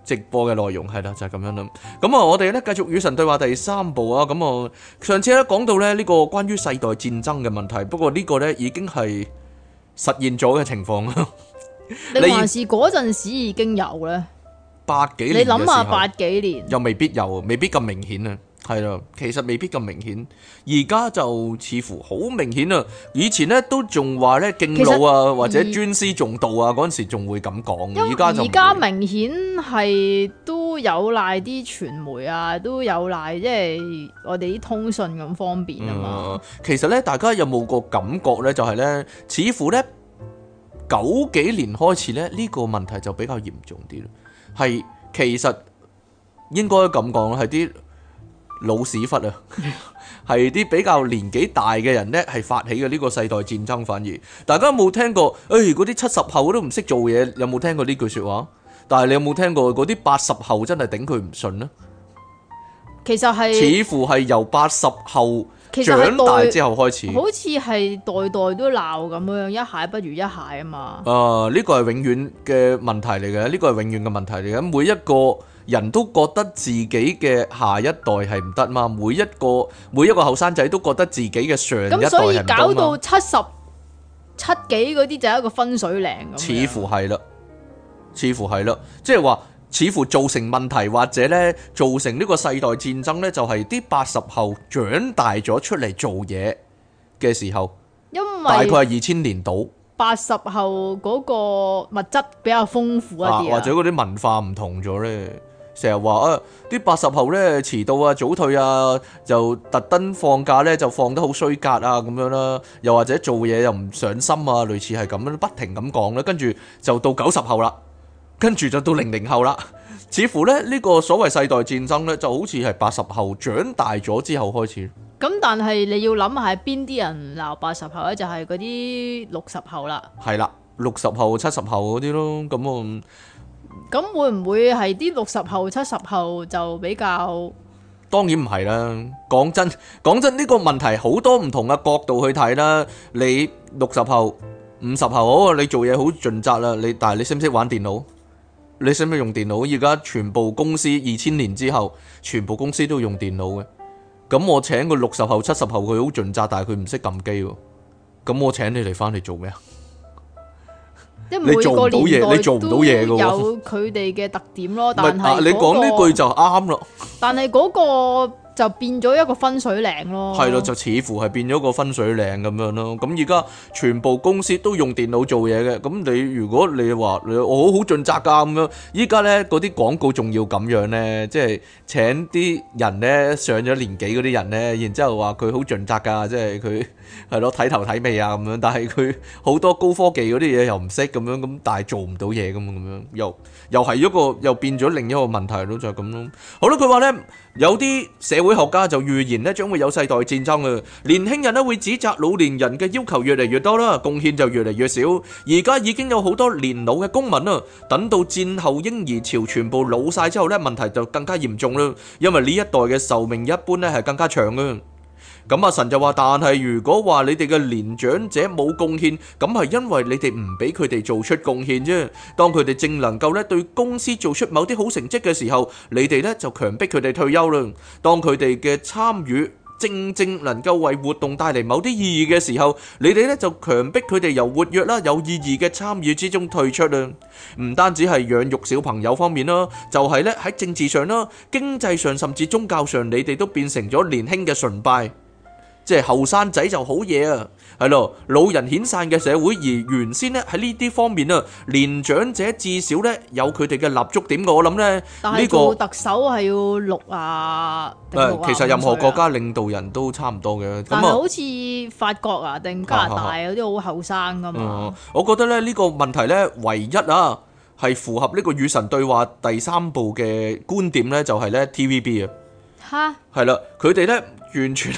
直播嘅內容係啦，就係、是、咁樣啦。咁啊，我哋咧繼續與神對話第三部啊。咁啊，上次咧講到咧呢個關於世代戰爭嘅問題，不過呢個咧已經係實現咗嘅情況啦。 你還是嗰陣時已經有咧？ 八幾年嘅你時候， 諗下八幾年又未必有，未必咁明顯啊。係啦，其實未必咁明顯，而家就似乎好明顯啊！以前咧都仲話咧敬老啊，或者尊師重道啊，嗰陣時仲會咁講，而家就而家明顯係都有賴啲傳媒啊，都有賴即係我哋啲通訊咁方便啊嘛、 嗯。其實咧，大家有冇個感覺咧？就係、是、咧，似乎咧九幾年開始咧，呢、這個問題就比較嚴重啲咯。係其實應該咁講，係啲老屎忽啊，係啲比較年紀大嘅人呢，係發起嘅呢個世代戰爭。反而大家有冇聽過？誒嗰啲七十後都唔識做嘢，有冇聽過呢句説話？但係你有冇聽過嗰啲八十後真係頂佢唔順呢？ 其實係似乎係由八十後其實係長大之後開始， 好似係代代都鬧咁樣，一蟹不如一蟹啊嘛。 啊，呢個係永遠嘅問題嚟嘅，呢個係永遠嘅問題嚟嘅。每一個人都覺得自己嘅下一代係唔得嘛，每一個每一個後生仔都覺得自己嘅上一代係唔得嘛。 咁所以搞到七十七幾嗰啲就係一個分水嶺咁。 似乎係啦，似乎係啦，即係話似乎造成問題或者咧造成呢個世代戰爭咧，就係啲八十後長大咗出嚟做嘢嘅時候， 因為大概係二千年度。 八十後嗰個物質比較豐富一啲、啊、 或者嗰啲文化唔同咗咧。成日話啊，啲八十後咧遲到啊、早退啊，就特登放假咧就放得好衰格啊咁樣啦。又或者做嘢又唔上心啊，類似係咁樣，不停咁講啦。跟住就到九十後啦，跟住就到零零後啦。似乎咧呢個所謂世代戰爭咧，就好似係八十後長大咗之後開始。 咁但係你要諗下係邊啲人鬧八十後咧，就係嗰啲六十後啦。 係啦，六十後、七十後嗰啲咯，咁我。 咁會唔會係啲六十後、七十後就比較？ 當然唔係啦。講真，講真呢個問題好多唔同嘅角度去睇啦。你六十後、五十後，好，你做嘢好盡責啦。你但係你識唔識玩電腦？你識唔識用電腦？而家全部公司二千年之後，全部公司都用電腦嘅。咁我請個六十後、七十後，佢好盡責，但係佢唔識撳機喎。咁我請你嚟翻嚟做咩啊？ 你做唔到嘢， 你做唔到嘢嘅喎。 有佢哋嘅特點咯，但係、嗰個、 你講呢句就啱咯。 但係嗰個就變咗一個分水嶺咯。 係咯，就似乎係變咗個分水嶺咁樣咯。咁而家全部公司都用電腦做嘢嘅。咁你如果你話你我好好盡責㗎咁樣，依家咧嗰啲廣告仲要咁樣咧，即係請啲人咧上咗年紀嗰啲人咧，然之後話佢好盡責㗎，即係佢。係咯，睇頭睇尾啊咁樣，但係佢好多高科技嗰啲嘢又唔識咁樣，咁但係做唔到嘢咁咁樣，又又係一個又變咗另一個問題咯，就係咁咯。好啦，佢話呢，有啲社會學家就預言呢將會有世代戰爭啊，年輕人呢會指責老年人嘅要求越嚟越多啦，貢獻就越嚟越少。而家已經有好多年老嘅公民啊，等到戰後嬰兒潮全部老晒之後呢，問題就更加嚴重啦，因為呢一代嘅壽命一般呢係更加長嘅。咁阿神就話，但係如果話你哋嘅年長者冇貢獻，咁係因為你哋唔俾佢哋做出貢獻啫。當佢哋正能夠咧對公司做出某啲好成績嘅時候，你哋咧就強迫佢哋退休啦。當佢哋嘅參與正正能夠為活動帶嚟某啲意義嘅時候，你哋咧就強迫佢哋由活躍啦有意義嘅參與之中退出啦。唔單止係養育小朋友方面啦，就係咧喺政治上啦、經濟上甚至宗教上，你哋都變成咗年輕嘅崇拜。即係後生仔就好嘢啊，係咯，老人遣散嘅社會，而原先咧喺呢啲方面啊，年長者至少咧有佢哋嘅立足點。我諗咧呢個特首係要六啊， 誒，其實任何國家領導人都差唔多嘅。 但係好似法國啊定加拿大有啲好後生噶嘛。 嗯，我覺得咧呢個問題咧，唯一啊係符合呢個與神對話第三部嘅觀點咧，就係咧 T V B 啊， 吓係啦，佢哋咧。完全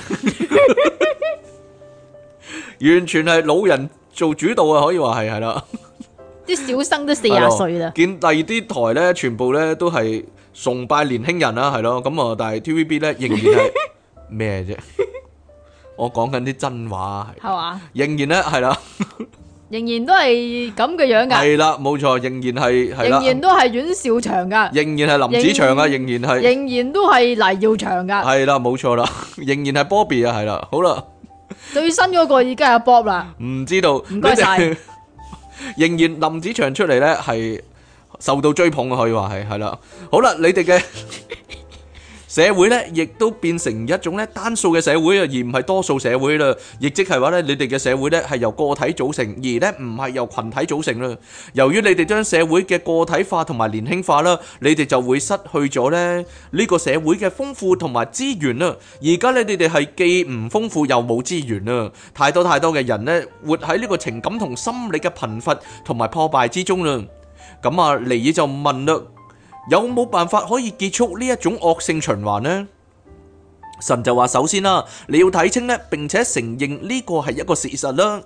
完全係老人做主導啊，可以話係係啦。 啲小生都四廿歲啦。 見第二啲台咧，全部咧都係崇拜年輕人啦，係咯。咁啊，但係 T V B 咧仍然係咩啫？我講緊啲真話係。係嘛？仍然咧係啦。 仍然都係咁嘅樣噶， 係啦，冇錯，仍然係係啦， 仍然都係阮兆祥噶， 仍然係林子祥啊，仍然係仍然都係黎耀祥噶， 係啦，冇錯啦，仍然係 Bobby 啊，係啦，好啦， 最新嗰個已經係阿 Bob 啦， 唔知道， 唔該晒。 你哋仍然林子祥出嚟咧，係受到追捧啊，可以話係係啦。好啦，你哋嘅社會咧，亦都變成一種咧單數嘅社會啊，而唔係多數社會啦。亦即係話咧，你哋嘅社會咧係由個體組成，而咧唔係由群體組成啦。由於你哋將社會嘅個體化同埋年輕化啦，你哋就會失去咗咧呢個社會嘅豐富同埋資源啦。而家咧，你哋係既唔豐富又冇資源啦，太多太多嘅人咧活喺呢個情感同心理嘅貧乏同埋破敗之中啦。咁啊，尼爾就問啦。有冇辦法可以結束呢一種惡性循環呢？神就話：首先啦，你要睇清呢，並且承認呢個係一個事實啦。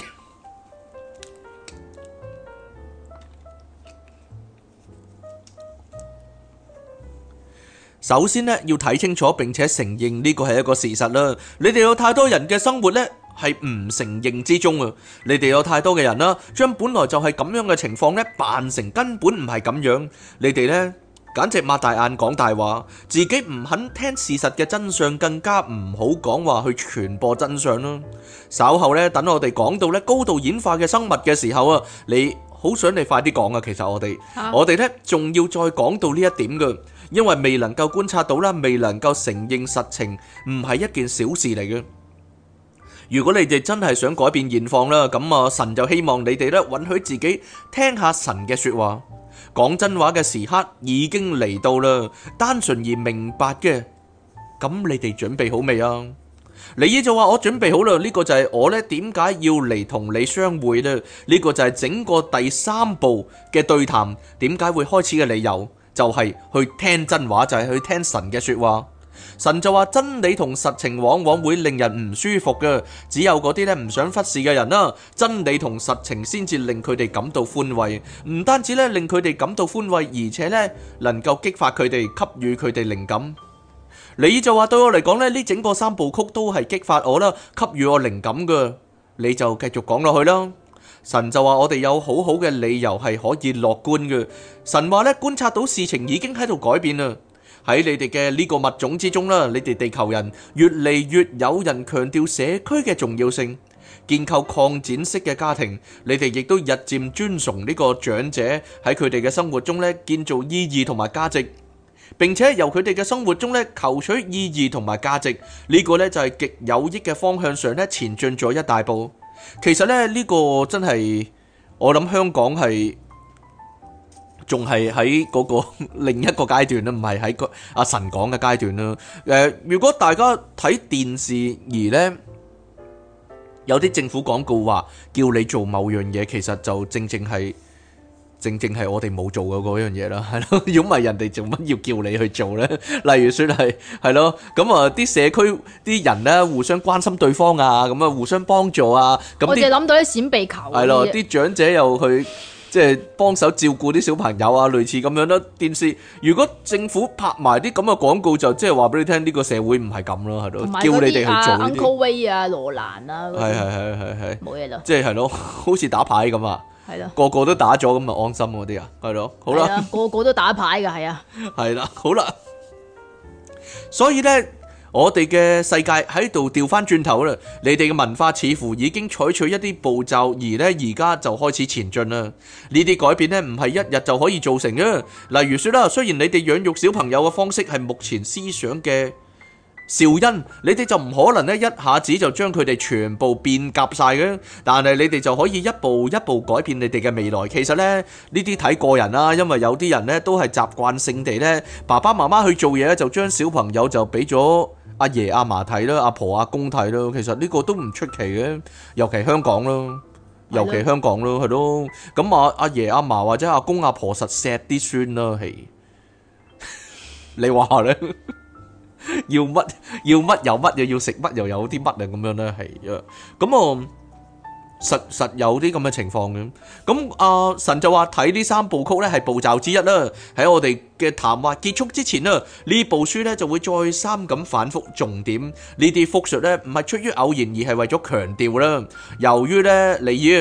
首先呢，要睇清楚並且承認呢個係一個事實啦。你哋有太多人嘅生活呢，係唔承認之中啊！你哋有太多嘅人啦，將本來就係咁樣嘅情況咧，扮成根本唔係咁樣。你哋咧，簡直擘大眼講大話，自己唔肯聽事實嘅真相，更加唔好講話去傳播真相啦。稍後咧，等我哋講到咧高度演化嘅生物嘅時候啊，你好想你快啲講啊！其實我哋，啊、我哋咧仲要再講到呢一點嘅，因為未能夠觀察到啦，未能夠承認實情，唔係一件小事嚟嘅。如果你哋真係想改變現況啦，咁啊神就希望你哋咧允許自己聽下神嘅說話，講真話嘅時刻已經嚟到啦，單純而明白嘅，咁你哋準備好未啊？尼爾就話：我準備好啦，呢個就係我咧點解要嚟同你相會咧？呢個就係整個第三步嘅對談點解會開始嘅理由，就係去聽真話，就係去聽神嘅說話。神就話：真理同實情往往會令人唔舒服嘅，只有嗰啲咧唔想忽視嘅人啦，真理同實情先至令佢哋感到歡慰，唔單止咧令佢哋感到歡慰，而且咧能夠激發佢哋，給予佢哋靈感。你就話對我嚟講咧，呢整個三部曲都係激發我啦，給予我靈感嘅。你就繼續講落去啦。神就話：我哋有好好嘅理由係可以樂觀嘅。神話咧，觀察到事情已經喺度改變啦。喺你哋嘅呢個物種之中啦，你哋地球人越嚟越有人強調社區嘅重要性，建構擴展式嘅家庭。你哋亦都日漸尊崇呢個長者喺佢哋嘅生活中咧建造意義同埋價值，並且由佢哋嘅生活中咧求取意義同埋價值。呢個咧就係極有益嘅方向上咧前進咗一大步。其實咧呢個真係我諗香港係。仲係喺嗰個另一個階段啦，唔係喺個阿神講嘅階段啦。誒，如果大家睇電視而呢，有啲政府廣告話叫你做某樣嘢，其實就正正係正正係我哋冇做嘅嗰樣嘢啦，係咯。如果唔係人哋做乜要叫你去做呢？例如說係係咯，咁啊啲社區啲人呢互相關心對方啊，咁啊互相幫助啊。咁我哋諗到啲閃避球。 係咯，啲長者又去。即係幫手照顧啲小朋友啊，類似咁樣啦。電視如果政府拍埋啲咁嘅廣告，就即係話俾你聽，呢個社會唔係咁咯，係咯，叫你哋去做呢啲。Uncle Way 啊，羅蘭啊， 係係係係係， 冇嘢啦。 即係係咯，好似打牌咁啊， 係咯， 個個都打咗咁啊，安心嗰啲啊，係咯，好啦， 個個都打牌㗎，係啊， 係啦，好啦，所以咧。我哋嘅世界喺度調翻轉頭啦，你哋嘅文化似乎已經採取一啲步驟，而呢而家就開始前進啦。呢啲改變呢唔係一日就可以造成嘅。例如說啦，雖然你哋養育小朋友嘅方式係目前思想嘅肇因，你哋就唔可能呢一下子就將佢哋全部變革晒嘅，但係你哋就可以一步一步改變你哋嘅未來。其實呢呢啲睇個人啦，因為有啲人呢都係習慣性地呢，爸爸媽媽去做嘢就將小朋友就俾咗阿爺阿嫲睇啦，阿婆阿公睇啦，其實呢個都唔出奇嘅，尤其香港咯，尤其香港咯，係咯。咁阿阿爺阿嫲或者阿公阿婆實錫啲孫啦，係你話咧？要乜要乜有乜嘢，要食乜又有啲乜啊，咁樣咧係啊，咁啊實實有啲咁嘅情況嘅。咁啊神就話睇呢三部曲咧係步驟之一啦。喺我哋嘅談話結束之前啊，呢部書咧就會再三咁反覆重點。呢啲複述咧唔係出於偶然，而係為咗強調啦。由於咧尼爾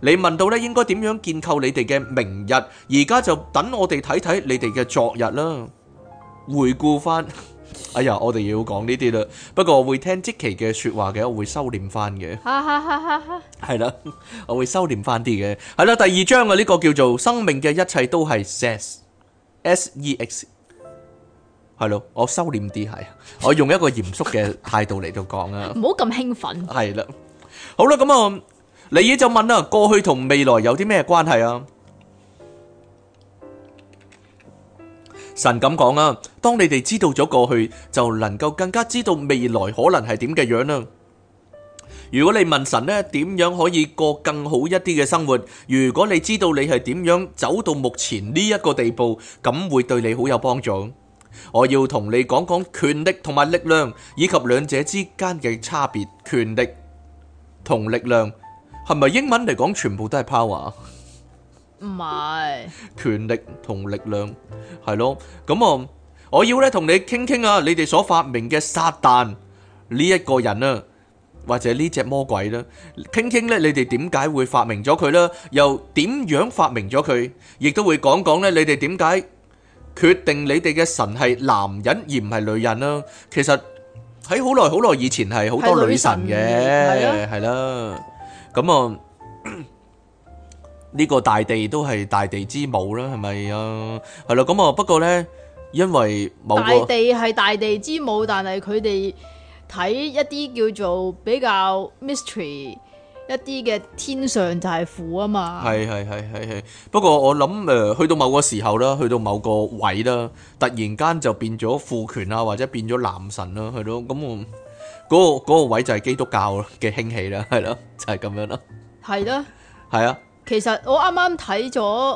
你問到咧應該點樣建構你哋嘅明日，而家就等我哋睇睇你哋嘅昨日啦。回顧翻，哎呀，我哋要講呢啲啦。不過我會聽即期嘅說話嘅，我會收斂翻嘅。 哈哈哈哈哈！ 係啦，我會收斂翻啲嘅。係啦，第二章啊，呢個叫做生命嘅一切都係 sex，S E X。係咯，我收斂啲係，我用一個嚴肅嘅態度嚟到講啊。 唔好咁興奮。 係啦，好啦，咁啊，尼爾就問啦，過去同未來有啲咩關係啊？神咁講啊，當你哋知道咗過去，就能夠更加知道未來可能係點嘅樣啦。如果你問神呢，點樣可以過更好一啲嘅生活？如果你知道你係點樣走到目前呢一個地步，咁會對你好有幫助。我要同你講講權力同埋力量，以及兩者之間嘅差別。權力同力量係咪英文嚟講全部都係 power？ 唔係。 權力同力量係咯，咁啊，我要咧同你傾傾啊，你哋所發明嘅撒旦呢一個人啊，或者呢隻魔鬼啦，傾傾咧你哋點解會發明咗佢啦，又點樣發明咗佢，亦都會講講咧你哋點解決定你哋嘅神係男人而唔係女人啦。其實喺好耐好耐以前係好多女神嘅，係啦，咁啊。呢個大地都係大地之母啦，係咪啊？係咯，咁啊，不過呢，因為某個大地係大地之母，但係佢哋睇一啲叫做比較 mystery 一啲嘅天上就係父啊嘛。 係係係係係。不過我諗誒，去到某個時候啦，去到某個位啦，突然間就變咗父權啊，或者變咗男神啦，係咯。咁我嗰個嗰個位就係基督教嘅興起啦，係咯，就係咁樣啦。 係咯。 係啊。 其實我啱啱睇咗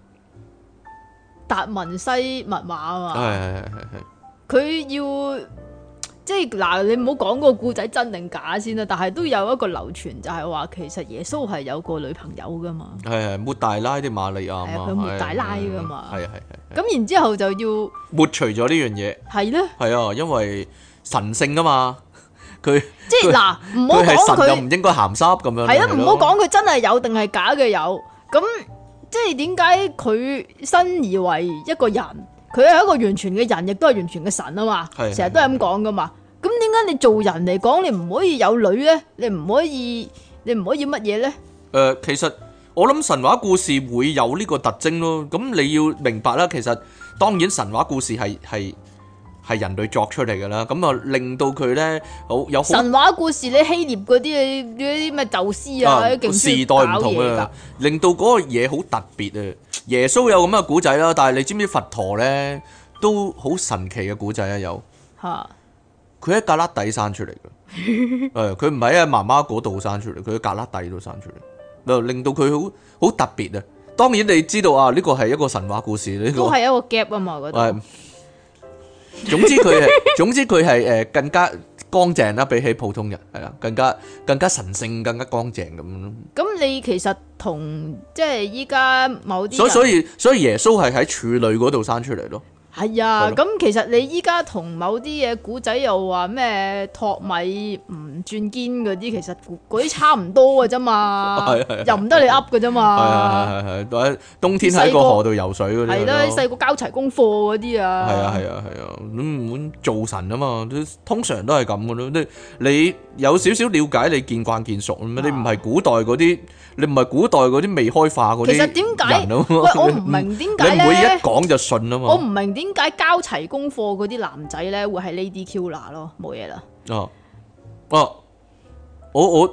達文西密碼啊嘛， 係係係係佢要即係嗱，你唔好講個故仔真定假先啦，但係都有一個流傳就係話，其實耶穌係有個女朋友噶嘛， 係係抹大拉啲瑪利亞嘛， 佢抹大拉噶嘛， 係係係。 咁然之後就要抹除咗呢樣嘢， 係咧， 係啊，因為神聖啊嘛。佢即係嗱，唔好講佢又唔應該鹹濕咁樣。 係啊，唔好講佢真係有定係假嘅有。咁即係點解佢身而為一個人，佢係一個完全嘅人，亦都係完全嘅神啊嘛。成日都係咁講噶嘛。咁點解你做人嚟講，你唔可以有女咧？你唔可以，你唔可以乜嘢咧？誒、 呃，其實我諗神話故事會有呢個特徵咯。咁你要明白啦，其實當然神話故事係係。係人類作出嚟㗎啦，咁啊令到佢咧好有神話故事，你希臘嗰啲嗰啲咩宙斯啊，啲時代唔同啊，令到嗰個嘢好特別啊。耶穌有咁嘅古仔啦，但係你知唔知佛陀咧都好神奇嘅古仔啊？有嚇，佢喺格旯底生出嚟嘅，誒佢唔係喺媽媽嗰度生出嚟，佢喺格旯底度生出嚟，就令到佢好好特別啊。當然你知道啊，呢個係一個神話故事，呢個都係一個 gap 啊嘛嗰度。 總之佢係，總之佢係誒更加乾淨啦，比起普通人係啦，更加更加神聖，更加乾淨咁咯。 咁你其實同即係依家某啲， 所以所以所以耶穌係喺處女嗰度生出嚟咯。 係啊，咁其實你依家同某啲嘢古仔又話咩托米唔轉堅嗰啲，其實嗰啲差唔多嘅啫嘛，又唔得你噏嘅啫嘛。 係係係係，冬天喺個河度游水嗰啲。 係啦，細個交齊功課嗰啲啊。係啊係啊係啊，咁咁做神啊嘛，通常都係咁嘅咯。你你有少少了解，你見慣見熟咁，你唔係古代嗰啲，你唔係古代嗰啲未開化嗰啲。 其實點解？喂，我唔明點解咧？ 你唔會一講就信啊嘛。 我唔明點解交齊功課嗰啲男仔咧會係 Lady Killer 咯，冇嘢啦。 哦哦，我我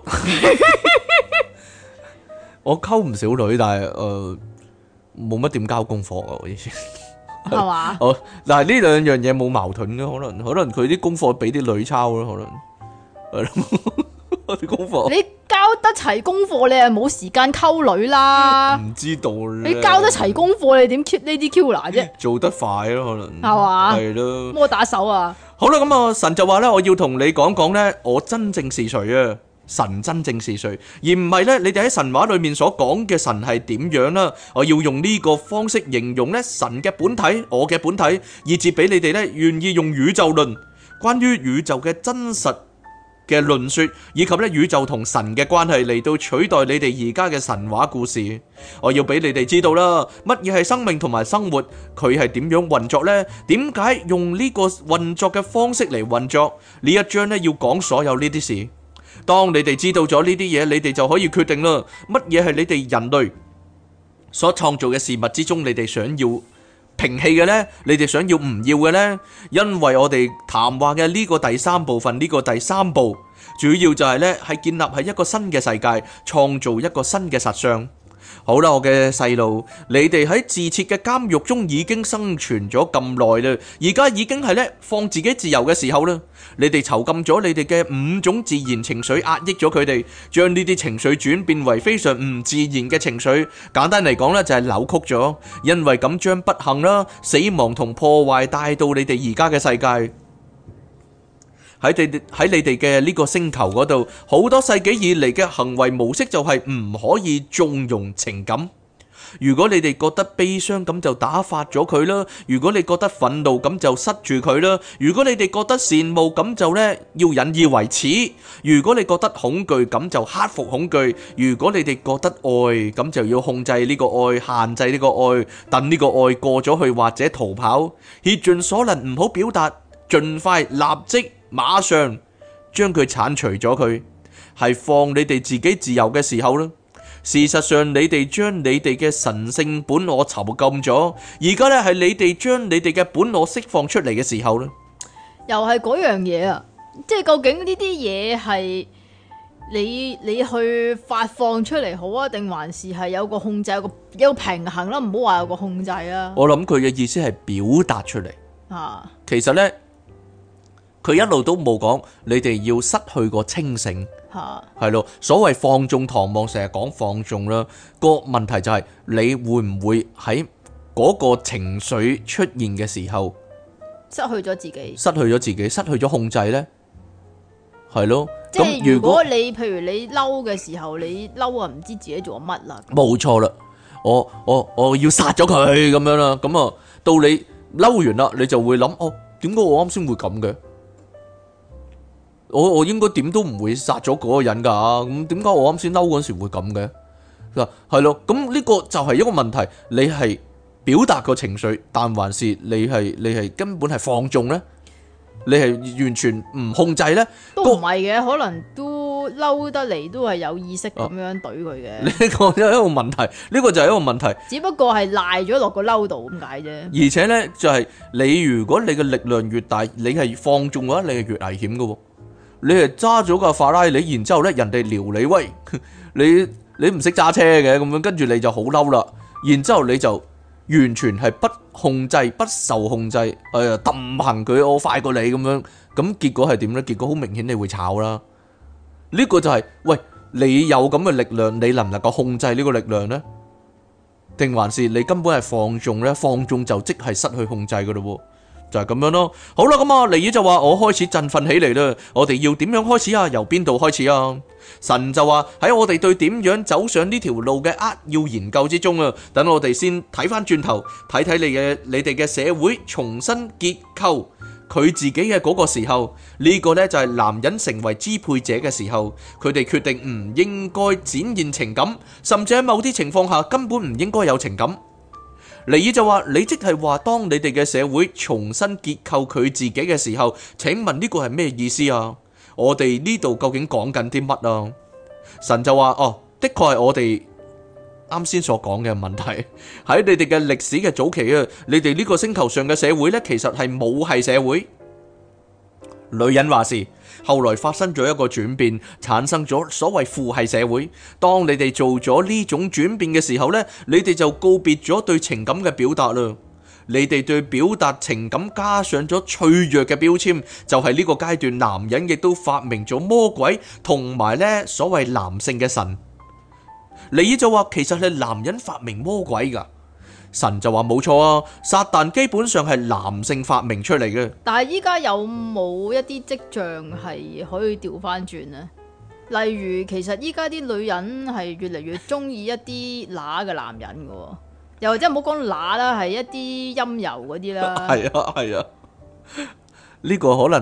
我溝唔少女，但係誒冇乜點交功課啊，我以前係嘛？ 哦，但係呢兩樣嘢冇矛盾嘅，可能可能佢啲功課俾啲女抄咯，可能係咯啲功課。 你交得齊功課，你係冇時間溝女啦。 唔知道你交得齊功課，你點 keep 呢啲 Killer 啫？ 做得快咯，可能係嘛？ 係咯， 摩打手啊！ 好啦，咁啊，神就話咧，我要同你講講咧，我真正是誰啊？神真正是誰，而唔係咧，你哋喺神話裏面所講嘅神係點樣啦？我要用呢個方式形容咧神嘅本體，我嘅本體，以至俾你哋咧願意用宇宙論關於宇宙嘅真實嘅論說，以及咧宇宙同神嘅關係嚟到取代你哋而家嘅神話故事。我要俾你哋知道啦，乜嘢係生命同埋生活，佢係點樣運作呢？點解用呢個運作嘅方式嚟運作？呢一章咧要講所有呢啲事。當你哋知道咗呢啲嘢，你哋就可以決定啦，乜嘢係你哋人類所創造嘅事物之中，你哋想要摒棄嘅呢？你哋想要唔要嘅呢？因為我哋談話嘅呢個第三部分，呢個第三步，主要就係呢，係建立喺一個新嘅世界，創造一個新嘅實相。好啦，我嘅細路，你哋喺自設嘅監獄中已經生存咗咁耐啦，而家已經係呢，放自己自由嘅時候啦。你哋囚禁咗你哋嘅五種自然情緒，壓抑咗佢哋，將呢啲情緒轉變為非常唔自然嘅情緒。簡單嚟講呢，就係扭曲咗，因為咁將不幸啦、死亡同破壞帶到你哋而家嘅世界。喺你喺你哋嘅呢個星球嗰度，好多世紀以嚟嘅行為模式就係唔可以縱容情感。如果你哋覺得悲傷，咁就打發咗佢啦；如果你覺得憤怒，咁就塞住佢啦；如果你哋覺得羨慕，咁就呢要引以為恥；如果你覺得恐懼，咁就克服恐懼；如果你哋覺得愛，咁就要控制呢個愛，限制呢個愛，等呢個愛過咗去或者逃跑，竭盡所能唔好表達，盡快立即馬上將佢剷除咗佢，係放你哋自己自由嘅時候啦。事實上，你哋將你哋嘅神聖本我囚禁咗，而家咧係你哋將你哋嘅本我釋放出嚟嘅時候啦。 又係嗰樣嘢啊！即係究竟呢啲嘢係你你去發放出嚟好啊，定還是係有個控制，有個有個平衡啦？唔好話有個控制啊！ 我諗佢嘅意思係表達出嚟啊。其實呢，佢一路都冇講你哋要失去個清醒。係咯，所謂放縱唐望成日講放縱啦，個問題就係你會唔會喺嗰個情緒出現嘅時候失去咗自己， 失去咗自己，失去咗控制呢？係咯， 即係如果你譬如你嬲嘅時候，你嬲啊唔知自己做乜啦， 冇錯啦，我我我要殺咗佢咁樣啦，咁啊到你嬲完啦，你就會諗哦，點解我啱先會咁嘅？我我應該點都唔會殺咗嗰個人噶，咁點解我啱先嬲嗰時會咁嘅？嗱，係咯，咁呢個就係一個問題，你係表達個情緒，但還是你係你係根本係放縱呢？你係完全唔控制呢？ 都唔係嘅，可能都嬲得嚟都係有意識咁樣懟佢嘅。 呢個就係一個問題，呢個就係一個問題。 只不過係賴咗落個嬲度咁解啫。 而且呢，就係你如果你嘅力量越大，你係放縱嘅話，你係越危險嘅。你係揸咗架法拉利，然之後咧人哋撩你，喂，你你唔識揸車嘅咁樣，跟住你就好嬲啦，然之後你就完全係不控制、不受控制，誒揼行佢，我快過你咁樣，咁結果係點咧？結果好明顯你會炒啦。呢個就係，喂，你有咁嘅力量，你能唔能夠控制呢個力量咧？定還是你根本係放縱咧？放縱就即係失去控制噶咯。就係咁樣咯。好啦，咁啊，尼爾就話我開始振奮起嚟啦。我哋要點樣開始啊？由邊度開始啊？神就話喺我哋對點樣走上呢條路嘅扼要研究之中啊。等我哋先睇翻轉頭，睇睇你嘅你哋嘅社會重新結構佢自己嘅嗰個時候，呢個呢就係男人成為支配者嘅時候，佢哋決定唔應該展現情感，甚至喺某啲情況下根本唔應該有情感。尼爾就話：你即係話，當你哋嘅社會重新結構佢自己嘅時候，請問呢個係咩意思啊？我哋呢度究竟講緊啲乜啊？神就話：哦，的確係我哋啱先所講嘅問題。喺你哋嘅歷史嘅早期啊，你哋呢個星球上嘅社會呢，其實係母系社會。女人話事。後來發生咗一個轉變，產生咗所謂父系社會。當你哋做咗呢種轉變嘅時候呢，你哋就告別咗對情感嘅表達啦。你哋對表達情感加上咗脆弱嘅標籤，就係呢個階段，男人亦都發明咗魔鬼同埋呢所謂男性嘅神。尼爾就話，其實係男人發明魔鬼噶。神就話冇錯啊，撒旦基本上係男性發明出嚟嘅。 但係依家有冇一啲跡象係可以調翻轉呢？例如，其實依家啲女人係越嚟越中意一啲乸嘅男人嘅，又或者唔好講乸啦，係一啲陰柔嗰啲啦。 係啊係啊，呢個可能係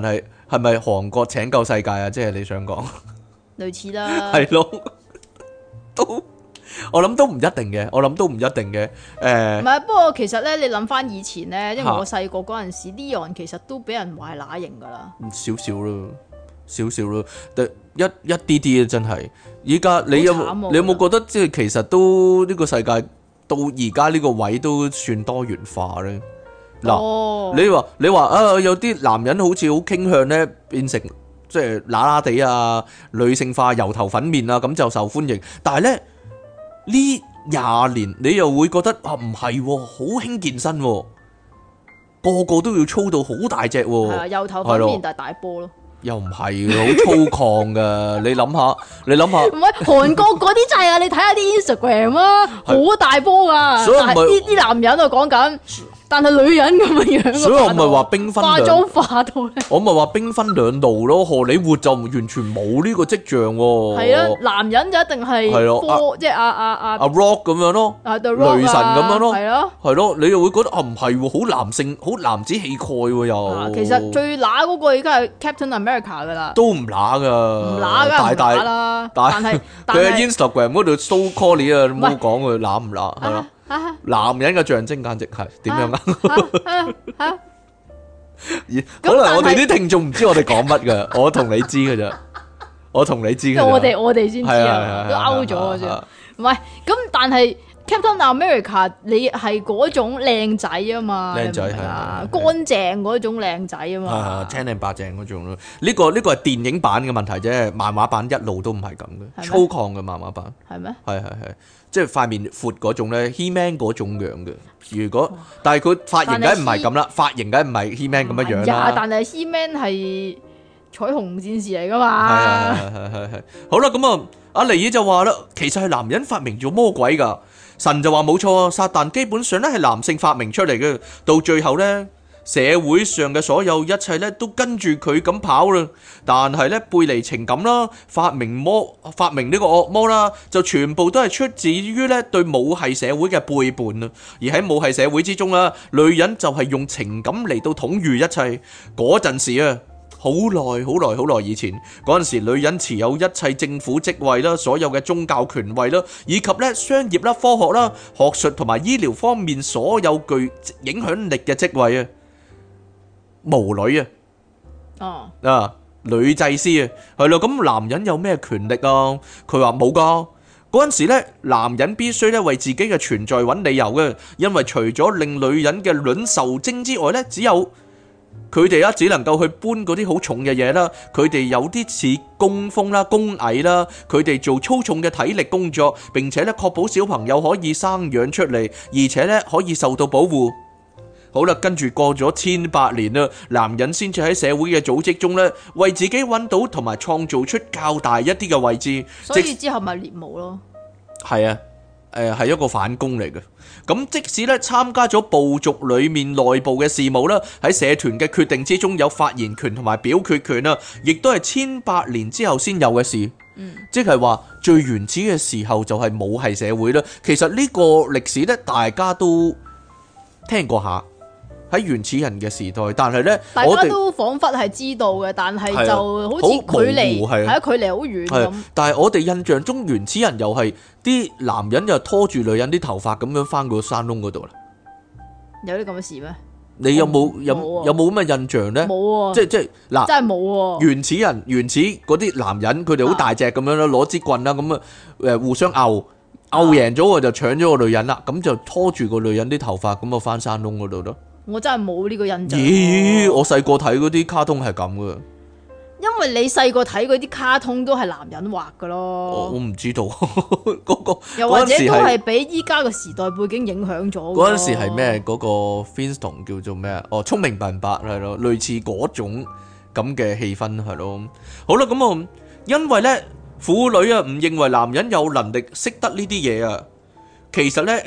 係咪韓國拯救世界啊？即係你想講類似啦。 係咯，都我諗都唔一定嘅，我諗都唔一定嘅。誒， 唔係，不過其實咧，你諗翻以前咧，因為嚇我細個嗰陣時，Leon 其實都俾人話係乸型噶啦。 少少咯，少少咯，但一一啲啲啊，真係。依家你有好慘喎你有冇覺得即係其實都呢個世界到而家呢個位都算多元化咧？嗱、 哦， 你話你話啊，有啲男人好似好傾向咧變成即係乸乸地啊，女性化、油頭粉面啊，咁就受歡迎。但係咧呢廿年，你又會覺得啊，唔係喎，好興健身喎，個個都要操到好大隻喎。 係啊，油頭粉係咯面但係大波咯。 又唔係好粗犷噶，你諗下，你諗下， 唔係韓國嗰啲就係啊，你睇下啲 Instagram 啊，好大波噶。 所以唔係但係啲啲男人啊講緊，但係女人咁嘅樣啊。 所以我咪話兵分兩， 化妝化到咧。 我咪話兵分兩路咯。荷里活就完全冇呢個跡象喎。 係啊，男人就一定係係咯科，即係阿阿阿阿 Rock 咁樣咯， 啊 The Rock 啊雷神咁樣咯， 係咯。 係咯，你又會覺得啊唔係喎，好男性，好男子氣概喎又。 啊其實最乸嗰個而家係 Captain America 噶啦。 都唔乸噶， 唔乸梗係唔乸大大啦， 大但係但佢喺係 Instagram 嗰度 so call 你啊，你唔好講佢乸唔乸係咯。 啊啊男人嘅象徵簡直係點樣啊？ 啊啊可能我哋但係啲聽眾唔知我哋講乜噶，我同你知嘅咋，我同你知嘅咋。 我哋我哋先知係啊，都係係勾咗啊係係係啫。唔係咁，但係 Captain America 你係嗰種靚仔啊嘛， 靚仔你明唔明啊？ 係係係乾淨嗰種靚仔啊係嘛係，青靚白淨嗰種咯。呢個呢個係電影版嘅問題啫，漫畫版一路都唔係咁嘅， 咩粗犷嘅漫畫版。 係咩？ 係係係，即係塊面闊嗰種咧，He-Man 嗰種樣嘅。如果但係佢髮型梗係唔係咁啦，髮型梗係唔係 He-Man 咁樣樣呀， 啦。 但係 He-Man 係彩虹戰士嚟噶係嘛？ 係係係係。好啦，咁啊，阿尼爾就話啦，其實係男人發明咗魔鬼㗎。神就話冇錯啊，撒旦基本上咧係男性發明出嚟嘅，到最後咧社會上嘅所有一切咧都跟住佢咁跑啦。但係咧背離情感啦，發明魔發明呢個惡魔啦，就全部都係出自於咧對母系社會嘅背叛啊。而喺母系社會之中啦，女人就係用情感嚟到統御一切。嗰陣時啊，好耐好耐好耐以前嗰陣時，女人持有一切政府職位啦，所有嘅宗教權位啦，以及咧商業啦、科學啦、學術同埋醫療方面所有具影響力嘅職位啊，巫女啊， 哦， 啊女祭司啊，係咯，咁男人有咩權力啊？佢話冇噶。嗰陣時咧，男人必須咧為自己嘅存在揾理由嘅，因為除咗令女人嘅卵受精之外咧，只有佢哋啊，只能夠去搬嗰啲好重嘅嘢啦。佢哋有啲似工蜂啦、工蟻啦，佢哋做粗重嘅體力工作，並且咧確保小朋友可以生養出嚟，而且咧可以受到保護。好啦，跟住過咗千百年啦，男人先至喺社會嘅組織中咧，為自己揾到同埋創造出較大一啲嘅位置。 所以之後咪獵巫咯。 係啊，誒係一個反攻嚟嘅。咁即使咧參加咗部族裡面內部嘅事務啦，喺社團嘅決定之中有發言權同埋表決權啊，亦都係千百年之後先有嘅事。 嗯， 即係話最原始嘅時候就係母系社會啦。其實呢個歷史咧，大家都聽過下。喺原始人嘅時代，但係咧， 大我哋家都彷彿係知道嘅，但係係啊就好似距離好模糊係啊係啊，距離好遠係咁。 但係我哋印象中原始人又係啲男人又拖住女人啲頭髮咁樣翻個山窿嗰度啦。 有啲咁嘅事咩？ 你有冇有冇啊有冇咁嘅印象咧？ 冇喎， 即係即係嗱， 真係冇喎。 原始人原始嗰啲男人，佢哋好大隻咁樣啦，攞支棍啦，咁啊誒互相拗拗贏咗，我就搶咗個女人啦，咁就拖住個女人啲頭髮，咁啊翻山窿嗰度咯。 我真係冇呢個印象。 咦！我細個睇嗰啲卡通係咁噶， 因為你細個睇嗰啲卡通都係男人畫噶我我咯， 唔知道嗰個又或者嗰陣時係都係俾依家嘅時代背景影響咗。 嗰陣時係咩？嗰個 Flintstone 叫做咩啊？哦，聰明笨伯係咯，類似嗰種咁嘅氣氛係咯。好啦，咁啊，因為咧婦女啊唔認為男人有能力識得呢啲嘢啊，其實咧。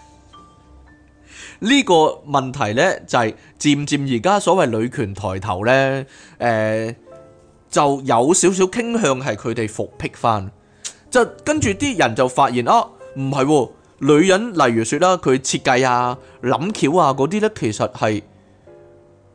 呢個問題呢，就係漸漸而家所謂女權抬頭呢，誒、呃、就有少少傾向係佢哋復辟翻，就跟住啲人就發現啊，唔係喎，女人例如説啦，佢設計啊、諗橋啊嗰啲呢，其實係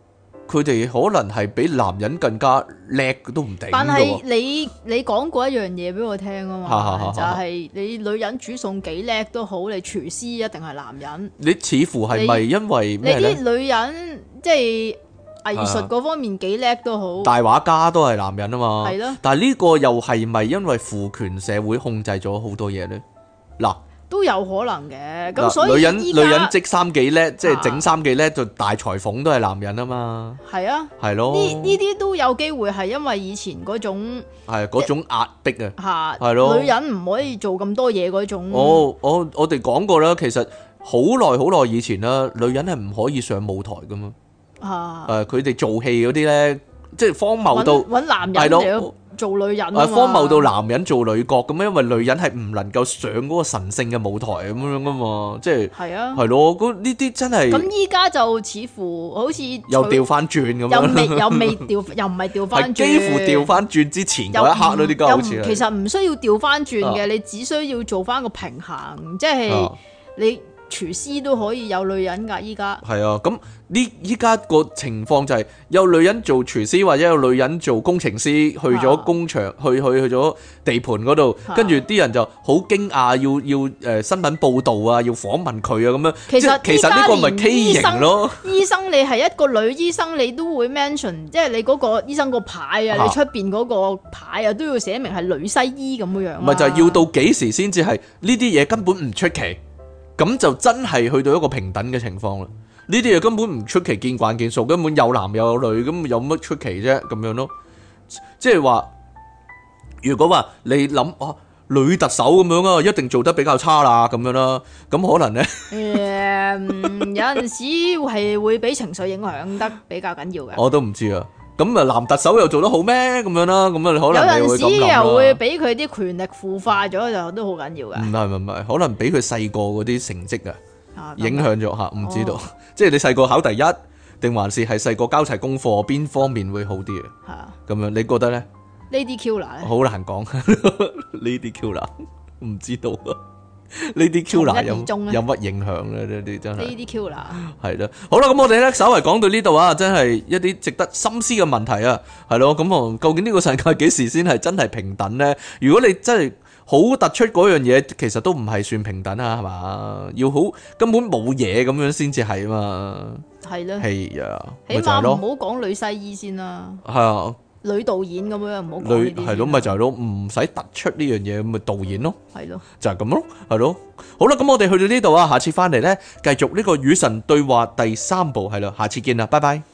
佢哋可能係比男人更加叻都唔定㗎喎。 但係你你講過一樣嘢俾我聽啊哈哈哈嘛，就係你女人煮餸幾叻都好，你廚師一定係男人。 你似乎係咪因為你咩咧？ 啲女人即係藝術嗰方面幾叻都好， 大畫家都係男人啊嘛。 係咯但係呢個又係咪因為父權社會控制咗好多嘢咧？嗱。 都有可能嘅。咁嗱所以女人女依家人織衫幾叻，即係啊整衫幾叻，就大裁縫都係男人啊嘛， 係啊， 係咯， 呢呢啲都有機會係因為以前嗰種係嗰種壓迫啊。 嚇， 係咯女人唔可以做咁多嘢嗰種。 我我我哋講過啦，其實好耐好耐以前啦，女人係唔可以上舞台噶嘛。 嚇誒，佢哋做戲嗰啲咧，即係荒謬到揾揾男人係咯嚟到做女人啊誒嘛荒謬到男人做女角咁樣，因為女人係唔能夠上嗰個神聖嘅舞台咁樣噶嘛，即係係啊。 係咯，嗰呢啲真係咁依家就似乎好似又調翻轉咁又樣， 未又未調，又唔係調係翻轉， 幾乎調翻轉之前又嗰一刻咯，啲歌又唔好似係其實唔需要調翻轉啊嘅，你只需要做翻個平衡，即係啊你廚師都可以有女人㗎，依家係啊，咁呢依家個情況就係有女人做廚師或者有女人做工程師，去咗工場，去去去咗地盤嗰度， 啊跟住啲人就好驚訝，要要誒新聞報導啊，要訪問佢啊咁樣。 其實即係其實呢個咪依家連 K 醫生型咯， 醫生你係一個女醫生，你都會 mention，即係你嗰個醫生個牌啊， 啊你出邊嗰個牌啊，都要寫明係女西醫咁樣樣啊。 咪就係要到幾時先至係呢啲嘢根本唔出奇，咁就真係去到一個平等嘅情況啦。呢啲嘢根本唔出奇，見慣見數，根本有男有女，咁有乜出奇啫？咁樣咯，即係話，如果話你諗啊，女特首咁樣啊，一定做得比較差啦，咁樣啦，咁可能咧， 誒有陣時係會俾情緒影響得比較緊要嘅。 我都唔知啊。咁啊，男特首又做得好咩？咁樣啦，咁啊，可能你有陣時會咁諗啦。 又會俾佢啲權力腐化咗，就都好緊要嘅。 唔係唔係唔係，可能俾佢細個嗰啲成績啊。 啊影響咗吓，唔知道， 哦即係你細個考第一，定還是係細個交齊功課，邊方面會好啲啊？ 係啊咁樣你覺得咧？ ，Lady Killer 咧好難講呢啲 Killer 唔知道啊，呢啲 Killer 有從一而終咧有乜影響咧？呢啲真係 ，Lady Killer 係啦。好啦，咁我哋咧稍為講到呢度啊，真係一啲值得深思嘅問題啊，係咯。咁啊，究竟呢個世界幾時先係真係平等咧？如果你真係好突出嗰樣嘢，其實都唔係算平等啊，係嘛？要好根本冇嘢咁樣先至係啊嘛。 係咯， 係啊， 起咪就係咯， 碼唔好講女西醫先啦， 係啊， 女導演咁樣唔好講呢啲先啦。 女係咯，咪就係咯，唔使突出呢樣嘢，咁咪導演咯， 係咯， 就係咁咯，係咯。好啦，咁我哋去到呢度啊，下次翻嚟咧，繼續呢個與神對話第三部，係啦，下次見啦，拜拜。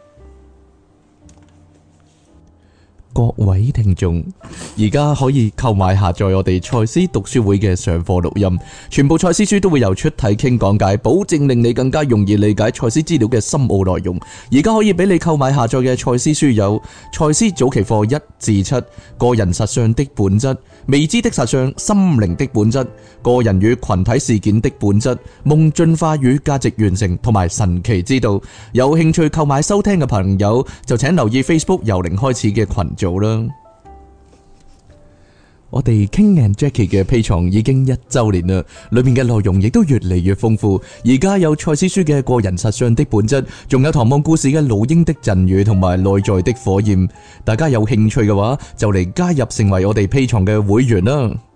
各位聽眾，而家可以購買下載我哋賽斯讀書會嘅上課錄音，全部賽斯書都會由出體傾講解，保證令你更加容易理解賽斯資料嘅深奧內容。而家可以俾你購買下載嘅賽斯書有賽斯早期課一至七、個人實相的本質、未知的實相、心靈的本質、個人與群體事件的本質、夢進化與價值完成同埋神奇之道。有興趣購買收聽嘅朋友就請留意 Facebook 由零開始嘅群組啦。我哋 King and Jackie 嘅 Patreon 已經一周年啦，裏面嘅內容亦都越嚟越豐富。而家有賽斯書嘅個人實相的本質，仲有唐望故事嘅老鷹的贈語同埋內在的火焰。大家有興趣嘅話，就嚟加入成為我哋 Patreon嘅會員啦。